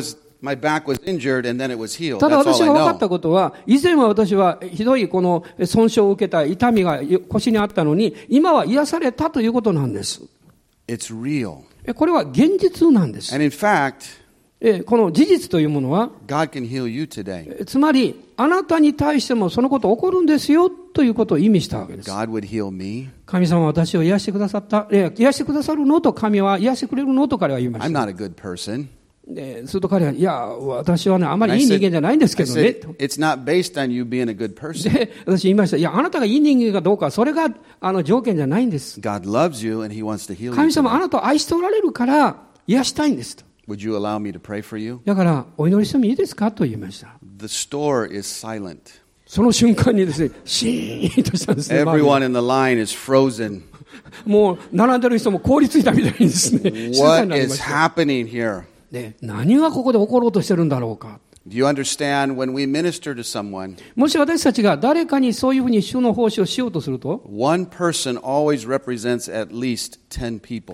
S1: my back was injured and then it was healed.
S2: ただ
S1: That's
S2: 私
S1: all
S2: が
S1: I
S2: 分かった
S1: know.
S2: ことは、以前は私はひどいこの損傷を受けた痛みが腰にあったのに、今は癒されたということなんです。
S1: It's real.
S2: これは現実なんです。
S1: And in fact,
S2: この事実というものは、
S1: God can heal you today.
S2: つまり、あなたに対してもそのこと起こるんですよということを意味したわけです。
S1: God would heal me.
S2: 神様は私を癒してくださった。癒してくださるのと神は癒してくれるのと彼は言いま
S1: I'm
S2: した。
S1: not a good person.
S2: すると彼は、いや、私はね、あまりいい人間じゃないんですけ
S1: I
S2: どね。
S1: said, it's not based on you being a good person.
S2: で、私言いました。いや、あなたがいい人間かどうか、それが条件じゃないんです。
S1: God loves you and He wants to heal you
S2: 神様、あ
S1: today.
S2: なたを愛しておられるから癒したいんですと。
S1: Would you allow me to pray for you?
S2: だから、お祈りしてもいいですかと言いました。
S1: The store is silent.
S2: その瞬間にですね、シーンとしたんですね。周り
S1: Everyone in the line is frozen.
S2: もう、並んでる人も凍りついたみたいにですね、静かに
S1: What
S2: なりま
S1: is
S2: した。
S1: happening here?
S2: で、何がここで起ころうとしてるんだろうか。
S1: Do you understand when we minister to someone,
S2: もし私たちが誰かにそういうふうに主の奉仕をしようとすると、
S1: one person always represents at least 10 people.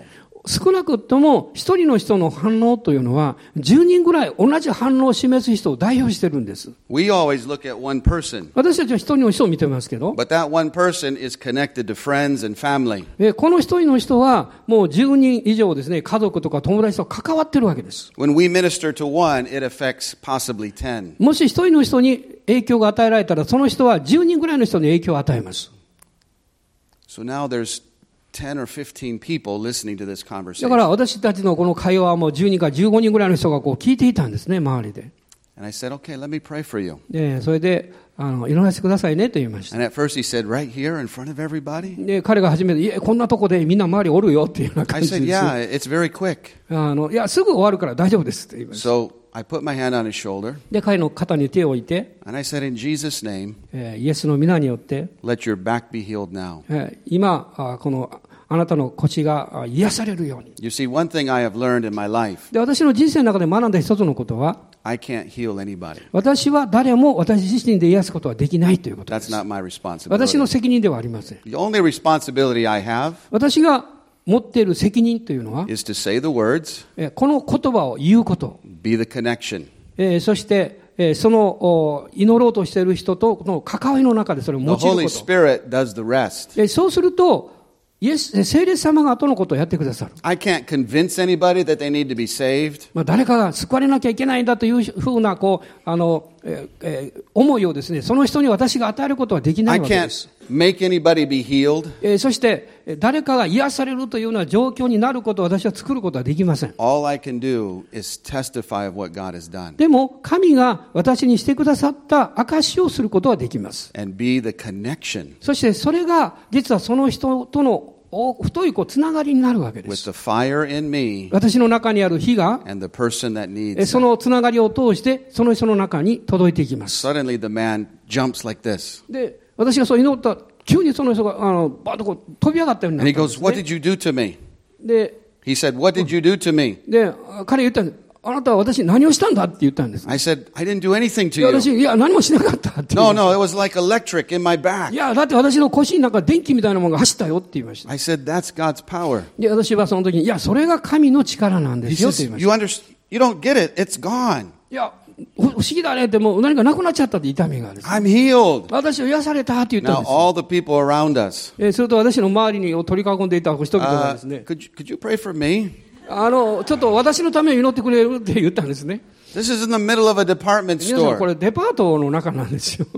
S2: 少なくとも一人の人の反応というのは10人ぐらい同じ反応を示す人を代表してるんです。
S1: We always look at one person,
S2: 私たちは一人の人を見てますけど、
S1: but that one person is connected to friends and family.
S2: この一人の人はもう10人以上ですね、家族とか友達と関わってるわけです。
S1: When we minister to one, it affects possibly 10.
S2: もし一人の人に影響が与えられたら、その人は10人ぐらいの人に影響を与えます。
S1: So now there's 10 or 15 people listening to this
S2: だ
S1: conversation.
S2: から私たちのこの会話はもう10人から15人ぐらいの人がこう聞いていたんですね、周りで。
S1: And I said, okay, let me pray for you.
S2: で、それで、祈らせてくださいねと言いました。
S1: And at first he said, right here in front of everybody?
S2: で、彼が初めて、いや、こんなとこでみんな周りおるよっていうような
S1: I
S2: 感じ
S1: said,
S2: です。
S1: yeah, it's very quick.
S2: いや、すぐ終わるから大丈夫ですって言いました。
S1: So I put my hand on his shoulder
S2: で、彼の肩に手を置いて、
S1: and I said, in Jesus' name,
S2: イエスの皆によって、
S1: let your back be healed now.
S2: 今、この、あなたの腰が癒されるように。
S1: You see, one thing I have learned in my life,
S2: で、私の人生の中で学んだ一つのことは、
S1: I can't heal anybody.
S2: 私は誰も私自身で癒すことはできないということで
S1: That's
S2: す。
S1: not my responsibility.
S2: 私の責任ではありません。
S1: The only responsibility I have
S2: 私が持っている責任というのは、
S1: is to say the words,
S2: この言葉を言うこと、
S1: be the connection.
S2: そして、その祈ろうとしている人との関わりの中でそれを用い
S1: The
S2: るこ
S1: Holy
S2: と。
S1: Spirit does the rest.
S2: そうすると、聖霊様が後のことをやってくださる。
S1: I can't convince anybody that they need to be saved.
S2: 誰かが救われなきゃいけないんだというふうな思いをですね、その人に私が与えることはできな
S1: I
S2: いわけで
S1: can't
S2: す。
S1: make anybody be healed.
S2: そして誰かが癒されるというような状況になることを私は作ることはできません。
S1: All I can do is testify of what God has done
S2: でも神が私にしてくださった証をすることはできます。
S1: and be the connection
S2: そしてそれが実はその人との太いつながりになるわけで
S1: with
S2: す。
S1: the fire in me
S2: 私の中にある火が
S1: and the person that needs
S2: そ
S1: it.
S2: のつながりを通してその人の中に届いていきます。
S1: Suddenly the man jumps like this.
S2: で、私がそう祈った急にその人がバーッと飛び上がったようにな
S1: And
S2: っ
S1: he
S2: たんです
S1: goes, what
S2: ね。
S1: did you do to me?
S2: で、
S1: He said, what did you do to me?
S2: 彼言ったんです。あなたは私に何をしたんだって言ったんです。
S1: I said, I didn't do anything
S2: いや
S1: to
S2: 私、
S1: you.
S2: いや、何もしなかったって言い
S1: No,
S2: ました。
S1: no, it was like electric in my
S2: い
S1: back.
S2: や、だって私の腰の中電気みたいなものが走ったよって言いました。
S1: I said, that's God's power.
S2: で、私はその時に、いや、それが神の力なんで
S1: He
S2: すよって
S1: says,
S2: 言いまし
S1: you don't get it. It's gone.
S2: た。いや、不思議だねって、もう何かなくなっちゃったって痛みがある。
S1: I'm healed.
S2: 私を癒されたって言ったん
S1: Now
S2: です。
S1: all the people around us,
S2: すると私の周りに取り囲んでいた人々がですね、
S1: could you pray for me?
S2: ちょっと私のために祈ってくれるって言ったんですね。
S1: This is in the middle of a department
S2: 皆さんこ
S1: store,
S2: れデパートの中なんですよ。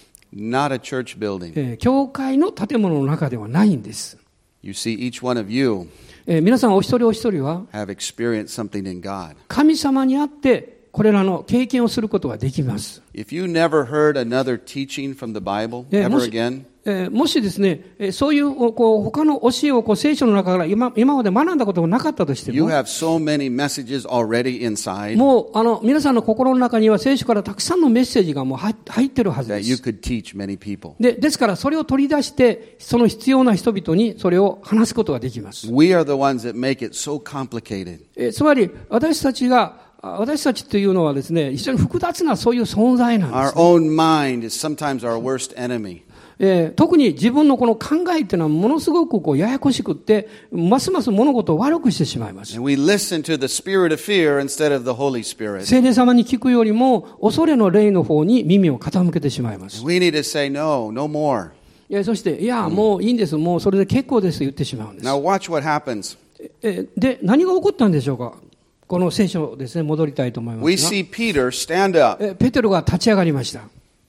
S1: not a church building.
S2: 教会の建物の中ではないんです。
S1: You see, each one of you
S2: 皆さんお一人お一人は
S1: have experienced something in God.
S2: 神様にあってこれらの経験をすることができます。
S1: If you never heard another teaching from the Bible
S2: も
S1: ever
S2: し
S1: again,
S2: もしですね、そういう他の教えを聖書の中から今まで学んだことがなかったとして
S1: you
S2: も、
S1: have so many messages already inside
S2: もう皆さんの心の中には聖書からたくさんのメッセージがもう入ってるはず
S1: that
S2: で
S1: you
S2: す。
S1: could teach many people.
S2: ですからそれを取り出してその必要な人々にそれを話すことができます。
S1: We are the ones that make it so complicated.
S2: つまり私たちというのはですね、非常に複雑なそういう存在なんで
S1: Our
S2: す。
S1: own mind is sometimes our worst enemy.
S2: 特に自分のこの考えっていうのはものすごくややこしくって、ますます物事を悪くしてしまいます。
S1: And we listen to the spirit of fear instead of the Holy Spirit.
S2: 聖霊様に聞くよりも恐れの霊の方に耳を傾けてしまいます。
S1: We need to say no more.
S2: そして、いや、もういいんです。もうそれで結構ですと言ってしまうんです。
S1: Now watch what happens.
S2: で、何が起こったんでしょうか。この聖書ですね、戻りたいと思いま
S1: We
S2: す
S1: see Peter stand up.
S2: が。ペテロが立ち上がりました。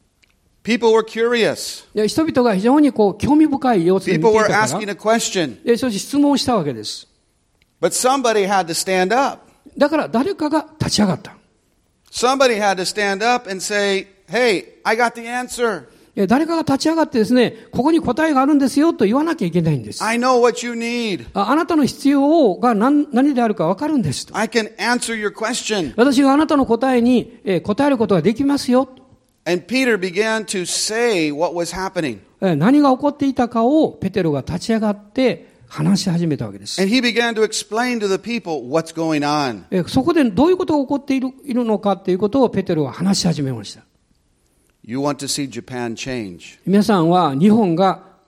S1: People were curious.
S2: 人々が非常に興味深い様子で見て
S1: People
S2: いた
S1: were
S2: か
S1: asking
S2: ら、
S1: a question.
S2: そして質問をしたわけです。
S1: But somebody had to stand up.
S2: だから誰かが立ち上がった。
S1: Somebody had to stand up and say, hey, I got the answer.
S2: 誰かが立ち上がってですね、ここに答えがあるんですよと言わなきゃいけないんです。
S1: I know what you need.
S2: あなたの必要が何であるか分かるんですと。
S1: I can answer your question.
S2: 私があなたの答えに答えることができますよ。
S1: And Peter began to say what was happening.
S2: 何が起こっていたかをペテロが立ち上がって話し始めたわけです。
S1: And he began to explain to the people what's going on.
S2: そこでどういうことが起こっているのかということをペテロは話し始めました。
S1: You want to see Japan change.
S2: 皆さんは日本が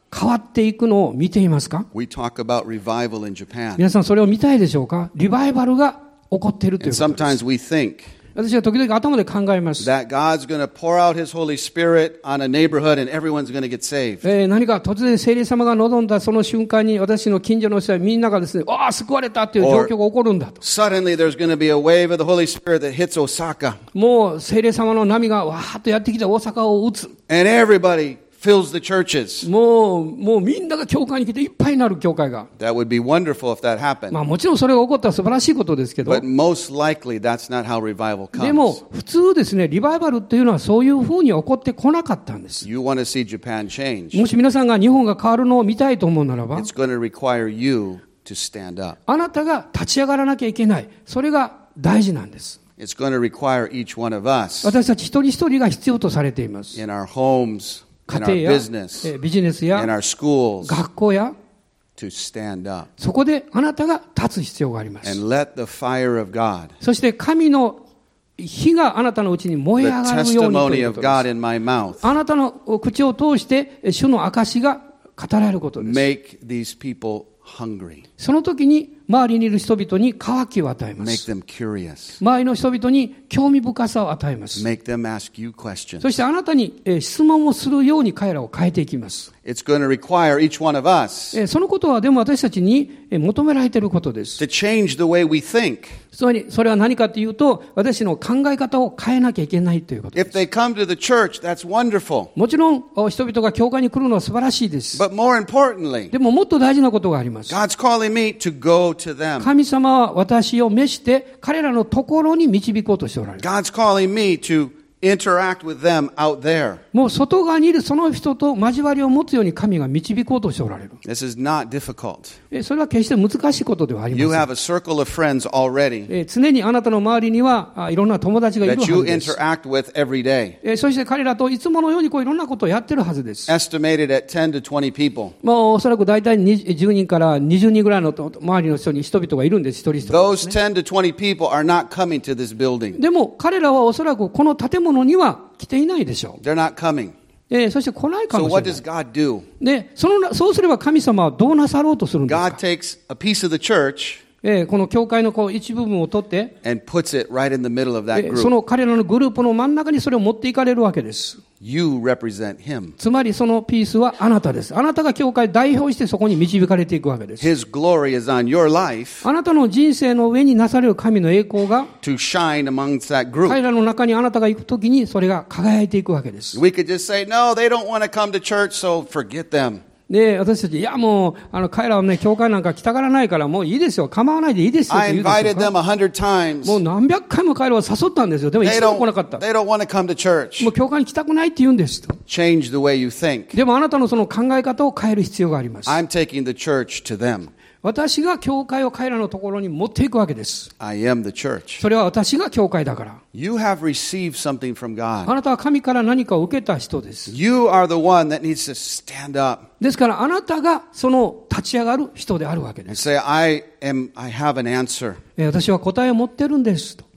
S2: 変わっていくのを見ていますか？
S1: We talk about revival in Japan.
S2: 皆さんそれを見たいでしょうか？リバイバルが起こっているという
S1: And
S2: ことです。
S1: sometimes we think
S2: 私は時々頭で考えます。
S1: that God's going to pour out His Holy Spirit on a neighborhood and everyone's going to get saved.
S2: 何か突然聖霊様が望んだその瞬間に私の近所の人はみんながですね、わあ救われたという状況が起こるんだと。
S1: Suddenly there's going to be a wave of the Holy Spirit that hits Osaka.
S2: もう聖霊様の波がわーっとやってきて大阪を打つ。
S1: And everybody fills the churches.
S2: もうみんなが教会に来ていっぱいになる教会が。
S1: That would be wonderful if that happened.
S2: まあもちろんそれが起こったら素晴らしいことですけど。
S1: But most likely that's not how revival
S2: でも
S1: comes.
S2: 普通ですね、リバイバルっていうのはそういうふうに起こってこなかったんです。
S1: You want to see Japan change.
S2: もし皆さんが日本が変わるのを見たいと思うならば、
S1: It's going to require you to stand up.
S2: あなたが立ち上がらなきゃいけない。それが大事なんです。
S1: It's going to require each one of us
S2: 私たち一人一人が必要とされています。
S1: in our homes,
S2: 家
S1: in
S2: 庭
S1: our
S2: や
S1: business,
S2: ビジネス
S1: in
S2: や
S1: our schools
S2: 学校や
S1: to stand up
S2: そこであなたが立つ必要があります。
S1: and let the fire of God,
S2: そして神の火があなたのうちに燃え
S1: the
S2: 上がるようにとい
S1: testimony
S2: う
S1: of
S2: ことで
S1: God
S2: す。
S1: in my mouth,
S2: あなたの口を通して主の証が語られることです。
S1: make these people hungry,
S2: その時に周りにいる人々に渇きを与えま
S1: make
S2: す。
S1: them curious,
S2: 周りの人々に興味深さを与えます。
S1: make them ask you questions.
S2: そしてあなたに質問をするように彼らを変えていきます。
S1: It's going to require each one of us
S2: そのことはでも私たちに求められていることです。
S1: to change the way we think.
S2: それは何かというと、私の考え方を変えなきゃいけないということで
S1: If
S2: す。
S1: they come to the church, that's wonderful.
S2: もちろん人々が教会に来るのは素晴らしいです。
S1: But more importantly,
S2: でももっと大事なことがあります。
S1: God's calling me to go to them.
S2: 神様は私を召して彼らのところに導こうとしておられる。
S1: God's calling me to interact with them out there.
S2: もう外側にいるその人と交わりを持つように神が導こうとしておられる。
S1: This is not difficult.
S2: それは決して難しいことではあり
S1: You
S2: ませ
S1: have
S2: ん。
S1: a circle of friends already
S2: 常にあなたの周りにはいろんな友達がいる
S1: that
S2: は
S1: you
S2: ずです。
S1: interact with every day.
S2: そして彼らといつものようにいろんなことをやってるはずです。
S1: Estimated at 10 to 20 people.
S2: おそらく大体10人から20人ぐらいの周りの人々がいるんです、一人一人。
S1: Those 10 to 20 people are not coming to this building.
S2: でも彼らはおそらくこの建物には来ていないでしょ
S1: They're not coming.
S2: う。そして来ないか
S1: So
S2: もしれ
S1: what
S2: ない
S1: does。God do?
S2: で、そうすれば神様はどうなさろうとするんですか？
S1: God takes a piece of the church
S2: この教会の一部分を取って、
S1: and puts it right in the middle of that
S2: そ
S1: group.
S2: の彼らのグループの真ん中にそれを持っていかれるわけです。
S1: You represent Him.
S2: つまりそのピースはあなたです。あなたが教会を代表してそこに導かれていくわけです。
S1: His glory is on your life
S2: あなたの人生の上になされる神の栄光が
S1: to shine amongst that group.
S2: 彼らの中にあなたが行くときにそれが輝いていくわけです。
S1: We could just say, no, they don't want to come to church, so forget them.
S2: で、私たち、いやもう、彼らはね、教会なんか来たがらないから、もういいですよ。構わないでいいですよ。と
S1: I
S2: 言うでしょう
S1: invited
S2: か。
S1: them 100 times.
S2: もう何百回も彼らは誘ったんですよ。でも
S1: They
S2: 一度も来なかった。
S1: they don't want to come to church.
S2: もう教会に来たくないって言うんですと。
S1: Change the way you think.
S2: でもあなたのその考え方を変える必要があります。
S1: I'm taking the church to them.
S2: 私が教会を彼らのところに持っていくわけです。
S1: I am the church.
S2: それは私が教会だから。
S1: You have received something from
S2: あ
S1: God.
S2: なたは神から何かを受けた人です。
S1: You are the one that needs to stand up
S2: ですからあなたがその立ち上がる人であるわけで
S1: and
S2: す。
S1: say, I have an answer.
S2: 私は答えを持ってるんですと。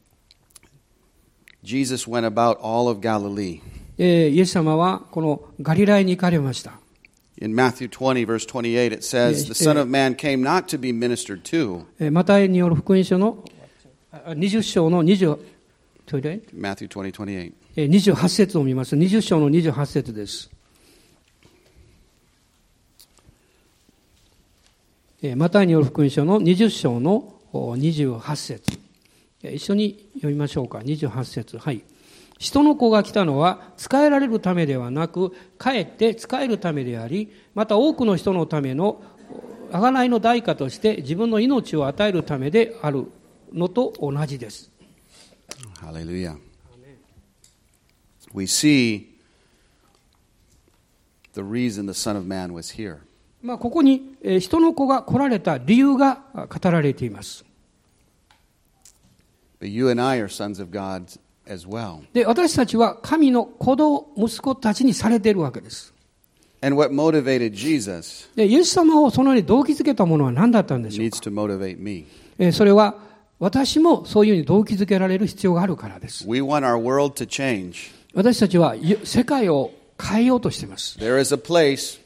S1: Jesus went about all of Galilee.
S2: イエス様はこのガリラヤに行かれました。
S1: In Matthew 20, verse 28, it says, The Son of Man came not to be ministered to.
S2: マタイによる福音書の20章の20、
S1: Matthew 20, 28.
S2: 28節を見ます。20章の28節です。マタイによる福音書の20章の28節。一緒に読みましょうか。28節。はい。人の子が来たのは仕えられるためではなく、かえって仕えるためであり、また多くの人のための贖いの代価として自分の命を与えるためであるのと同じです。
S1: Hallelujah. We see the reason the Son of Man was here.
S2: ここに人の子が来られた理由が語られています。
S1: But you and I are sons of God as well.
S2: で、私たちは神の息子たちにされているわけです。
S1: And what motivated Jesus
S2: で、イエス様をそのように動機づけたものは何だったんでしょう
S1: needs to motivate me.
S2: か。それは私もそういうふうに動機づけられる必要があるからです。
S1: We want our world to change.
S2: 私たちは世界を変えようとしています。
S1: There is a place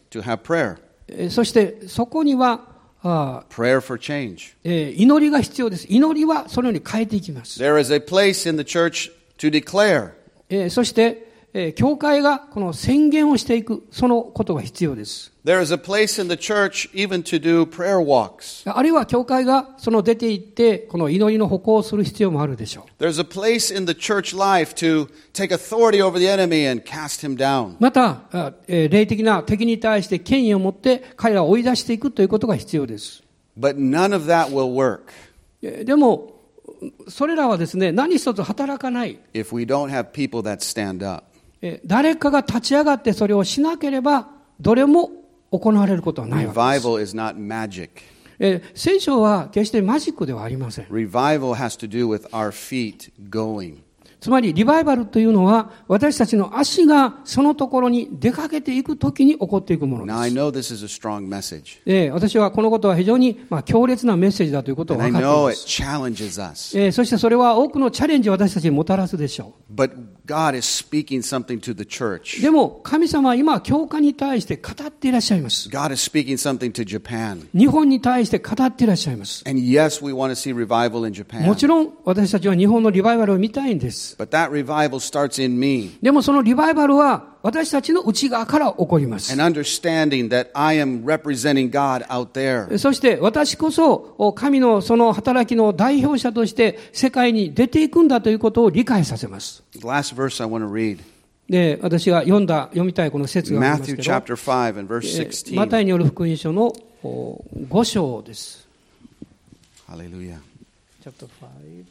S1: to have prayer.
S2: そしてそこには
S1: Prayer for change.
S2: 祈りが必要です。祈りはそのように変えていきます。
S1: There is a place in the church to declare.
S2: そして教会がこの宣言をしていく、そのことが必要です。
S1: There is a place in the church even to do prayer walks.
S2: あるいは教会がその出て行ってこの祈りの歩行をする必要もあるでしょう。
S1: There's a place in the church life to take authority over the enemy and cast him down.
S2: また霊的な敵に対して権威を持って彼らを追い出していくということが必要です。
S1: But none of that will work.
S2: でもそれらはですね、何一つ働かない。
S1: If we don't have people that stand up.
S2: 誰かが立ち上がってそれをしなければどれも行われることはないわけです。
S1: Revival is not magic.
S2: 聖書は決してマジックではありません。
S1: Revival has to do with our feet going.
S2: つまりリバイバルというのは私たちの足がそのところに出かけていくときに起こっていくものです。
S1: Now I know this is a strong message.
S2: 私はこのことは非常に強烈なメッセージだということを
S1: And
S2: 分
S1: I
S2: かってい
S1: know
S2: ま
S1: it
S2: す。
S1: challenges us.
S2: そしてそれは多くのチャレンジを私たちにもたらすでしょう。
S1: But God is speaking something to the church.
S2: でも神様は今教会に対して語っていらっしゃいます。
S1: God is speaking something to Japan.
S2: 日本に対して語っていらっしゃいます。
S1: And yes, we want to see revival in Japan.
S2: もちろん私たちは日本のリバイバルを見たいんです。
S1: But that revival starts in me.
S2: でもそのリバイバルは私たちの内側から起こります。
S1: And understanding that I am representing God out there.
S2: そして私こそ神のその働きの代表者として世界に出ていくんだということを理解させます。
S1: The last verse I want to read.
S2: で、私が読みたいこの説があります
S1: Matthew
S2: けど、
S1: chapter 5 and verse 16.
S2: マタイによる福音書の5章です。
S1: Hallelujah.
S2: Chapter 5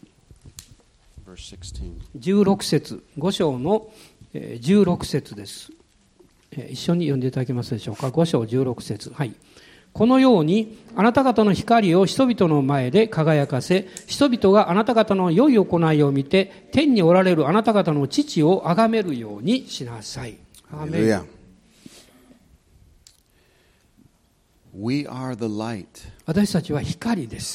S1: Verse 16.
S2: 16節、5章の16節です。一緒に読んでいただけますでしょうか。5章16節。はい。このようにあなた方の光を人々の前で輝かせ、人々があなた方の良い行いを見て天におられるあなた方の父を崇めるようにしなさい。アーメン。
S1: We are the light.
S2: 私たちは光です。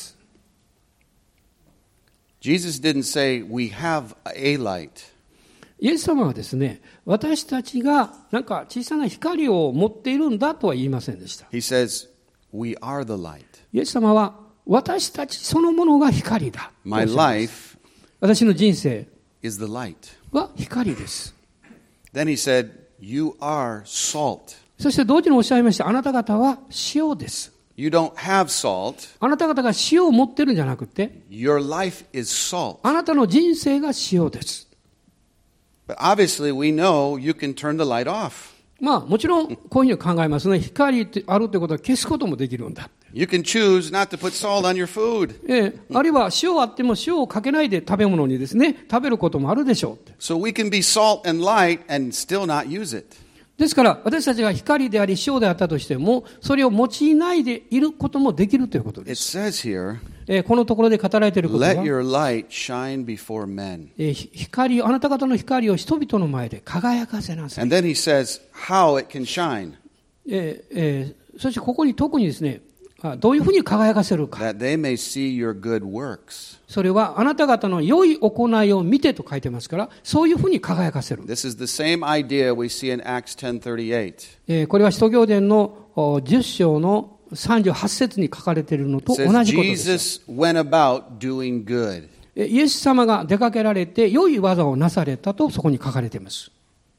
S1: Jesus didn't say we have a light.
S2: イエス様はですね、私たちがなんか小さな光を持っているんだとは言いませんでした。
S1: He says we are the light.
S2: イエス様は私たちそのものが光だ。
S1: My life
S2: 私の人生
S1: is the light.
S2: は光です。
S1: Then he said, you are salt.
S2: そして同時におっしゃいました。あなた方は塩です。
S1: You don't have salt.
S2: あなた方が塩を持ってるんじゃなくて、
S1: Your life is salt.
S2: あなたの人生が塩です。
S1: But obviously we know you can turn the light off.
S2: まあもちろんこういうふうに考えますね。光ってあるということは消すこともできるんだ。
S1: You can choose not to put salt on your food.
S2: あるいは塩あっても塩をかけないで食べ物にですね、食べることもあるでしょう。
S1: So we can be salt and light and still not use it.
S2: ですから私たちが光であり塩であったとしてもそれを用いないでいることもできるということで
S1: It
S2: す。
S1: says here,
S2: このところで語られていることは
S1: let your light shine before men.
S2: あなた方の光を人々の前で輝かせなさい。
S1: And then he says how it can shine.
S2: そしてここに特にですね、どういうふうに輝かせるか。
S1: That they may see your good works.
S2: それはあなた方の良い行いを見てと書いてますから、そういうふうに輝かせる。
S1: This is the same idea we see in Acts 10:38.
S2: これは使徒行伝の10章の38節に書かれているのと
S1: It
S2: 同
S1: says
S2: じことです。
S1: Jesus went about doing good.
S2: イエス様が出かけられて良い技をなされたとそこに書かれています。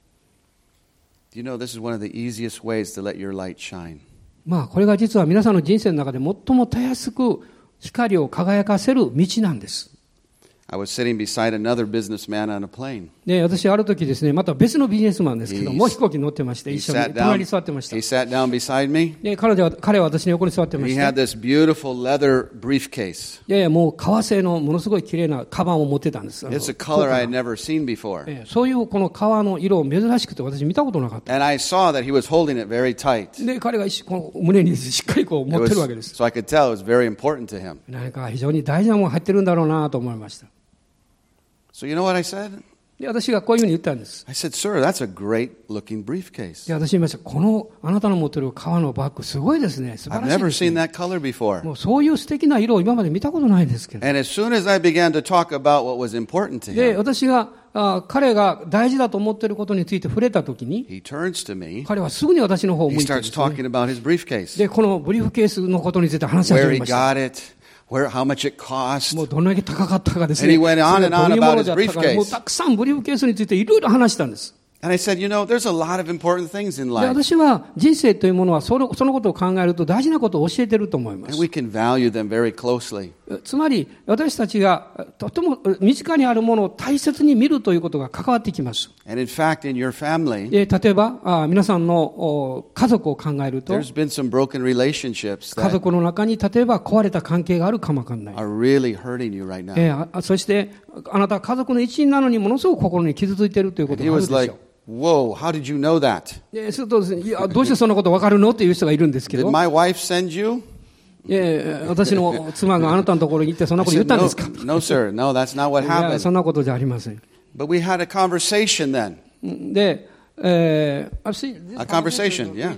S1: Do you know this is one of the easiest ways to let your light shine?
S2: まあこれが実は皆さんの人生の中で最もたやすく光を輝かせる道なんです。
S1: I was sitting beside another businessman on a plane.
S2: で、私ある時ですね、また別のビジネスマンですけども、飛行機に乗ってまして、一緒に隣に座ってました。
S1: He sat down beside me.
S2: で、彼は私の横に座ってま
S1: He
S2: し
S1: had
S2: た。
S1: this beautiful leather briefcase.
S2: いやいや、もう革製のものすごい綺麗なカバンを持ってたんです。
S1: It's a color I had never seen before.
S2: そういうこの革の色を珍しくて私見たことなかった。
S1: And I saw that he was holding it very tight.
S2: で、彼がこの胸にしっかりこう持ってるわけです。
S1: So I could tell it was very important to him.
S2: 何か非常に大事なものが入ってるんだろうなと思いました。
S1: So you know what I said?
S2: で、私がこういうふうに言ったんです。
S1: I said, sir, that's a great looking briefcase.
S2: で、私言いました。このあなたの持ってる革のバッグすごいですね。素晴
S1: I've
S2: らしい
S1: never
S2: ですね。
S1: seen that color before.
S2: もうそういう素敵な色を今まで見たことないんですけど。
S1: And as soon as I began to talk about what was important to
S2: で、
S1: him,
S2: 私が彼が大事だと思っていることについて触れたときに、
S1: he turns to me.
S2: 彼はすぐに私の方を
S1: He
S2: 向いて
S1: starts
S2: ですね、
S1: talking about his briefcase,
S2: で、このブリーフケースのことについて話し始
S1: where
S2: め
S1: he
S2: ました。
S1: got it, how much it cost.
S2: もうどんだけ高かったかです
S1: And
S2: ね。
S1: he went on and on
S2: それがどういうもの
S1: about his
S2: だったか、
S1: briefcase.
S2: もうたくさんブリーフケースについていろいろ話したんです。
S1: And I said, there's a lot of important things in
S2: で、
S1: life.
S2: 私は人生というものはそのことを考えると大事なことを教えていると思いま
S1: And
S2: す。
S1: we can value them very closely.
S2: つまり私たちがとても身近にあるものを大切に見るということが関わってきます。
S1: And in fact, in your family,
S2: 例えば皆さんの家族を考えると、
S1: there's been some broken relationships
S2: 家
S1: that
S2: 族の中に例えば壊れた関係があるかもわかんない。
S1: are really hurting you right now.
S2: そしてあなたは家族の一員なのにものすごく心に傷ついているということ
S1: He
S2: がある
S1: was
S2: でし
S1: like,
S2: ょう。
S1: whoa, how did you know that?
S2: するとですね、いやどうしてそんなことわかるのっていう人がいるんですけ
S1: Did
S2: ど、
S1: my wife send you?
S2: 私の妻があなたのところに行ってそんな
S1: I
S2: こと言っ
S1: said,
S2: たん
S1: no,
S2: ですか？
S1: no, sir. No, that's not what
S2: いや
S1: happened.
S2: そんなことじゃありません。
S1: But we had a conversation then.
S2: で、
S1: A conversation, yeah.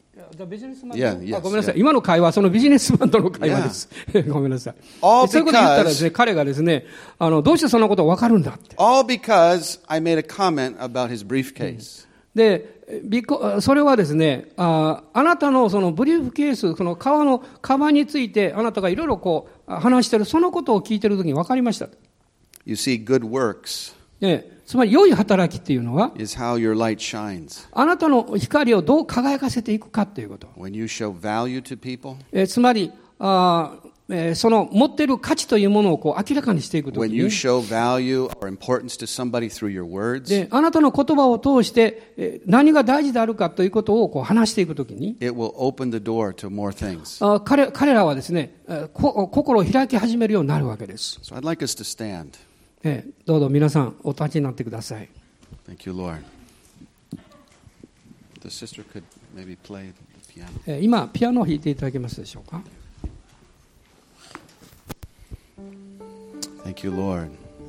S1: Yeah, yes,
S2: ごめんなさい。今の会話はそのビジネスマンとの会話です。ごめんなさい。
S1: All
S2: そういうこと言ったらですね、
S1: because,
S2: 彼がですね、どうしてそんなことわかるんだって。
S1: all because I made a comment about his briefcase.
S2: で、それはですね、あなたのそのブリーフケース、その革のカバンについてあなたがいろいろこう話してる、そのことを聞いてるときに分かりました。
S1: You see, good works
S2: つまり良い働きっていうのは、
S1: is how your light shines.
S2: あなたの光をどう輝かせていくかということ。
S1: When you show value to people,
S2: つまりその持っている価値というものをこう明らかにしていくとき
S1: when you
S2: に、
S1: show value or importance to somebody through your words,
S2: であなたの言葉を通して何が大事であるかということをこう話していくときに、
S1: it will open the door to more things.
S2: 彼らはですね、心を開き始めるようになるわけです。
S1: So I'd like us to stand.
S2: どうぞ皆さんお立ちになってください。
S1: Thank you, Lord. The sister could maybe play the piano.
S2: 今ピアノを弾いていただけますでしょうか。
S1: Thank you, Lord.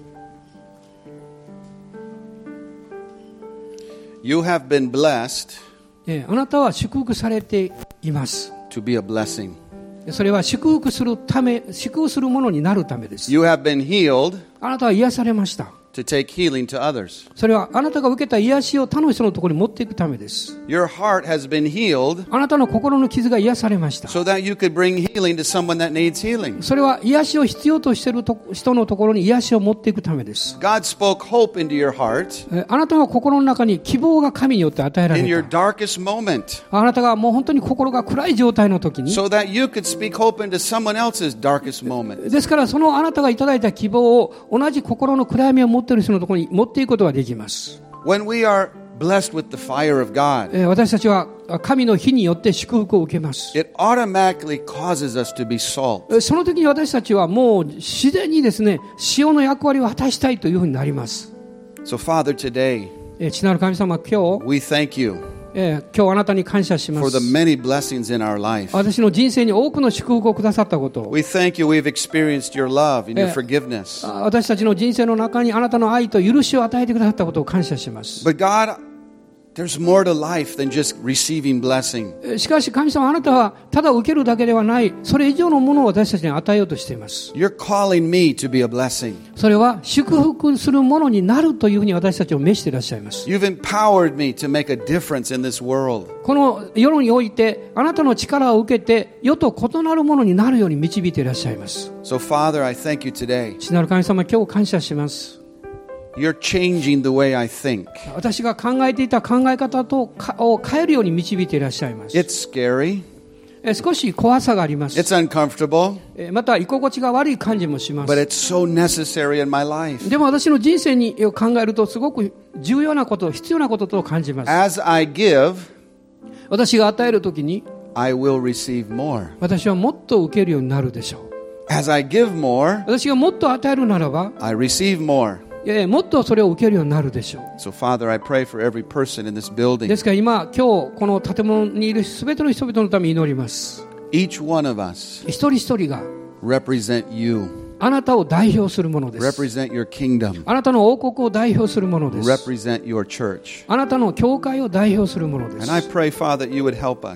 S1: You have been blessed
S2: あなたは祝福されています。
S1: to be a blessing.
S2: それは祝福するため、祝福するものになるためです。
S1: You have been healed
S2: あなたは癒されました。
S1: to take healing to others.
S2: それはあなたが受けた癒しを他の人のところに持っていくためです。
S1: Your heart has been healed
S2: あなたの心の傷が癒されました。
S1: so that you could bring healing to someone that needs healing.
S2: それは癒しを必要としている人のところに癒しを持っていくためです。
S1: God spoke hope into your heart
S2: あなたの心の中に希望が神によって与えら
S1: in
S2: れ
S1: your
S2: た。
S1: darkest moment
S2: あなたがもう本当に心が暗い状態の時に、
S1: so that you could speak hope into someone else's darkest moment.
S2: ですからそのあなたがいただいた希望を同じ心の暗闇を持っている人のところに持っていくことができます。
S1: When we are blessed with the fire of God,
S2: 私たちは神の火によって祝福を受けます。
S1: it automatically causes us to be salt.
S2: その時に私たちはもう自然にですね、塩の役割を果たしたいというふうになります。
S1: So Father, today
S2: 父なる神様、今日
S1: we thank you
S2: 今日あなたに感謝しま
S1: for
S2: す。
S1: the many blessings in our life.
S2: 私の人生に多くの祝福をくださったことを、
S1: We thank you we've experienced your love and your forgiveness.
S2: 私たちの人生の中にあなたの愛と許しを与えてくださったことを感謝します。
S1: But God, there's more to life than just receiving blessing.
S2: しかし神様、あなたはただ受けるだけではない、それ以上のものを私たちに与えようとしています。
S1: You're calling me to be a blessing.
S2: それは祝福するものになるというふうに私たちを召していらっしゃいます。
S1: You've empowered me to make a difference in this world.
S2: この世においてあなたの力を受けて世と異なるものになるように導いていらっしゃいます。
S1: So Father, I thank you today.
S2: 父なる神様、今日感謝します。
S1: You're changing the way I think.
S2: 私が考えていた考え方を変えるように導いていらっしゃいます。
S1: It's scary.
S2: 少し怖さがあります。
S1: It's uncomfortable.
S2: また居心地が悪い感じもしま
S1: But
S2: す。
S1: it's so necessary in my life.
S2: でも私の人生に考えるとすごく重要なこと、必要なことと感じます。
S1: As I give,
S2: 私が与えるときに
S1: I will receive more.
S2: 私はもっと受けるようになるでしょう。
S1: As I give more,
S2: 私がもっと与えるならば
S1: I receive more.
S2: もっとそれを受けるようになるでしょう。
S1: So Father, I pray for every person in this building.
S2: ですから今日この建物にいるすべての人々のために祈ります。
S1: Each one of us
S2: 一人一人が
S1: represent you,
S2: あなたを代表するものです。
S1: represent your kingdom,
S2: あなたの王国を代表するものです。
S1: represent your church.
S2: あなたの教会を代表するもので
S1: And I
S2: す。
S1: pray, Father, that you would help us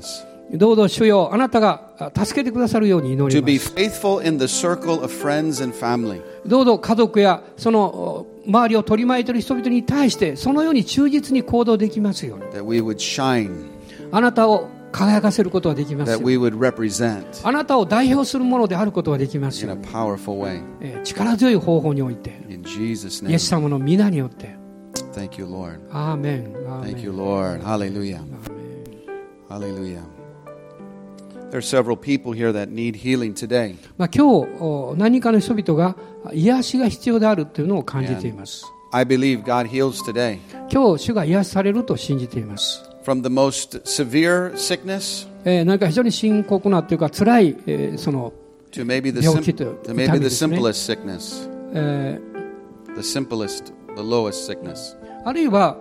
S2: どうぞ主よ、あなたが助けてくださるように祈
S1: to
S2: り
S1: be
S2: ます。
S1: faithful in the circle of friends and family.
S2: どうぞ家族やその周りを取り巻いている人々に対してそのように忠実に行動できますように。
S1: That we would shine,
S2: あなたを輝かせることができますよ
S1: that
S2: うに。
S1: we would represent
S2: あなたを代表するものであることができます
S1: in
S2: よ
S1: a
S2: うに。
S1: powerful way.
S2: 力強い方法において、
S1: In Jesus'
S2: イエ
S1: name.
S2: ス様の皆によって。
S1: Thank you, Lord.
S2: アーメン。アーメン。
S1: Thank you, Lord. Hallelujah.
S2: アーメン。
S1: Hallelujah. There are several people here that need healing today.
S2: 今日何人かの人々が癒しが必要であるというのを感じています。
S1: I believe God heals today.
S2: 今日主が癒しされると信じています。
S1: From the most severe sickness
S2: 何か非常に深刻なというか辛い、その
S1: to maybe the,
S2: 病気という痛みですね。
S1: simplest sickness. The simplest, the lowest sickness.
S2: あるいは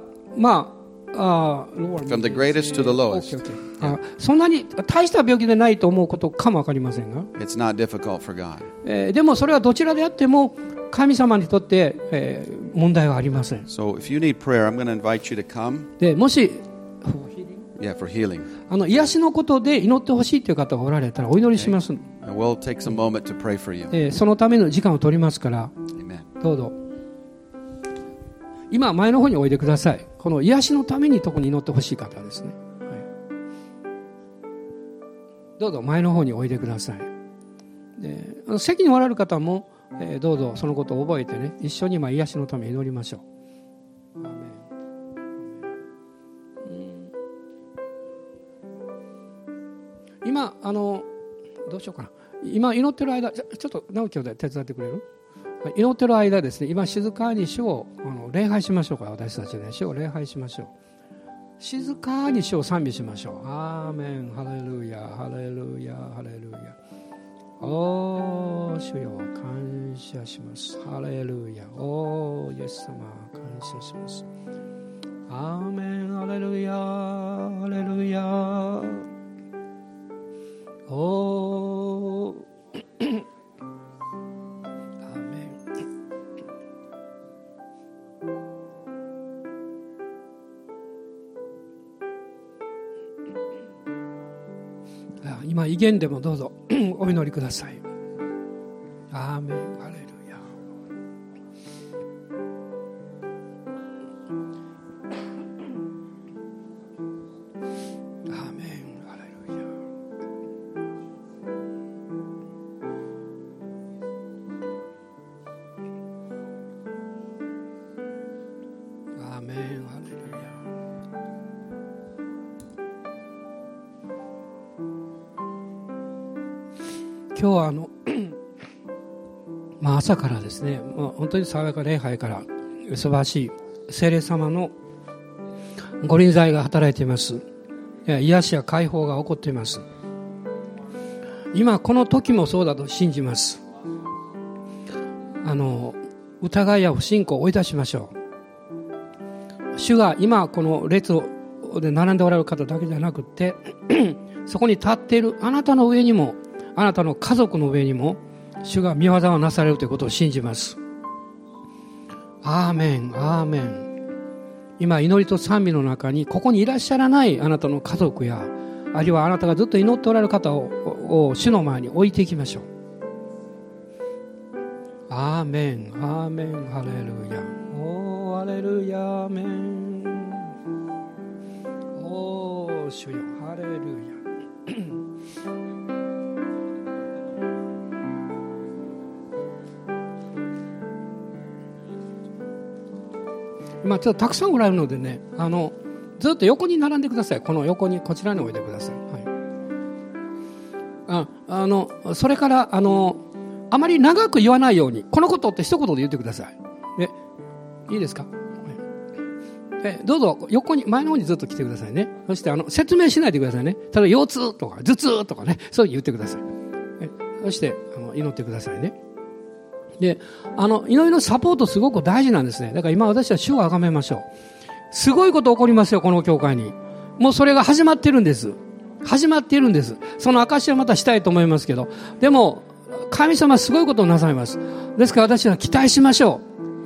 S1: From the greatest to the lowest.
S2: そんなに大した病気でないと思うことかもわかりませんが、
S1: It's not difficult for God.
S2: でもそれはどちらであっても神様にとって、問題はありません。
S1: So if you need prayer, I'm going to invite you to come.
S2: でもし
S1: Yeah, for healing.
S2: 癒しのことで祈ってほしいという方がおられたらお祈りします、
S1: And we'll take some moment to pray for you.
S2: そのための時間を取りますから、
S1: Amen.
S2: どうぞ今前の方においでください。この癒しのために特に祈ってほしい方ですね、はい、どうぞ前の方においでください。で席におられる方も、どうぞそのことを覚えてね、一緒に今癒しのために祈りましょう。アーメン。今どうしようかな。今祈ってる間ちょっと直樹兄弟手伝ってくれる？祈ってる間ですね、今静かに主を礼拝しましょうか。私たちね、主を礼拝しましょう。静かに主を賛美しましょう。アーメン、ハレルヤ、ハレルヤ、ハレルヤ。おー、主よ、感謝します。ハレルヤ、おー、イエス様、感謝します。アーメン、ハレルヤ、ハレルヤ。おー。今威厳でもどうぞお祈りください。アーメン、ハレルヤ。アーメン、ハレルヤ。アーメン、ハレルヤ。今日は朝からですね、本当に爽やか礼拝から素晴らしい聖霊様のご臨在が働いています。癒しや解放が起こっています。今この時もそうだと信じます。疑いや不信仰を追い出しましょう。主が今この列で並んでおられる方だけじゃなくてそこに立っているあなたの上にも、あなたの家族の上にも主が御業をなされるということを信じます。アーメン、アーメン。今祈りと賛美の中にここにいらっしゃらないあなたの家族や、あるいはあなたがずっと祈っておられる方を主の前に置いていきましょう。アーメン、アーメン、ハレルヤ。おー、ハレルヤ、アーメン。おー、主よ、ハレルヤ。今ちょっとたくさんおられるのでね、ずっと横に並んでください。この横に、こちらにおいでください。はい、それからあまり長く言わないように、このことって一言で言ってください。いいですか？はい、どうぞ横に、前の方にずっと来てくださいね。そして説明しないでくださいね。例えば腰痛とか頭痛とかね、そういう言ってください。そして祈ってくださいね。で、祈りのサポートすごく大事なんですね。だから今私は主を崇めましょう。すごいこと起こりますよ、この教会に。もうそれが始まってるんです。始まっているんです。その証はまたしたいと思いますけど、でも神様はすごいことをなさいます。ですから私は期待しましょう。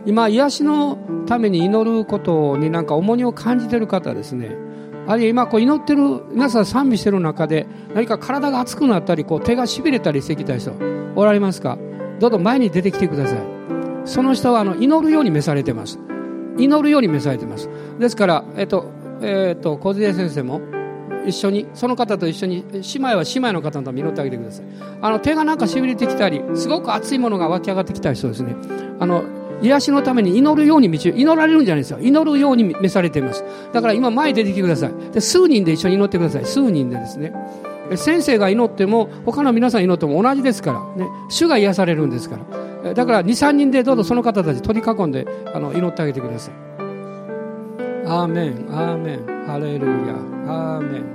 S2: 今癒しのために祈ることになんか重荷を感じている方ですね、あるいは今こう祈ってる皆さん賛美している中で何か体が熱くなったりこう手がしびれたりしてきた人おられますか？どうぞ前に出てきてください。その人は祈るように召されてます。祈るように召されてます。ですから小出先生も一緒にその方と一緒に姉妹は姉妹の方のために祈ってあげてください。手がなんかしびれてきたりすごく熱いものが湧き上がってきたりそうですね、癒しのために祈るように祈られるんじゃないですよ。祈るように召されています。だから今前に出てきてください。で数人で一緒に祈ってください。数人でですね、先生が祈っても他の皆さん祈っても同じですからね、主が癒されるんですから。だから 2,3 人でどうぞその方たち取り囲んで祈ってあげてください。アーメンアーメンハレルヤアーメン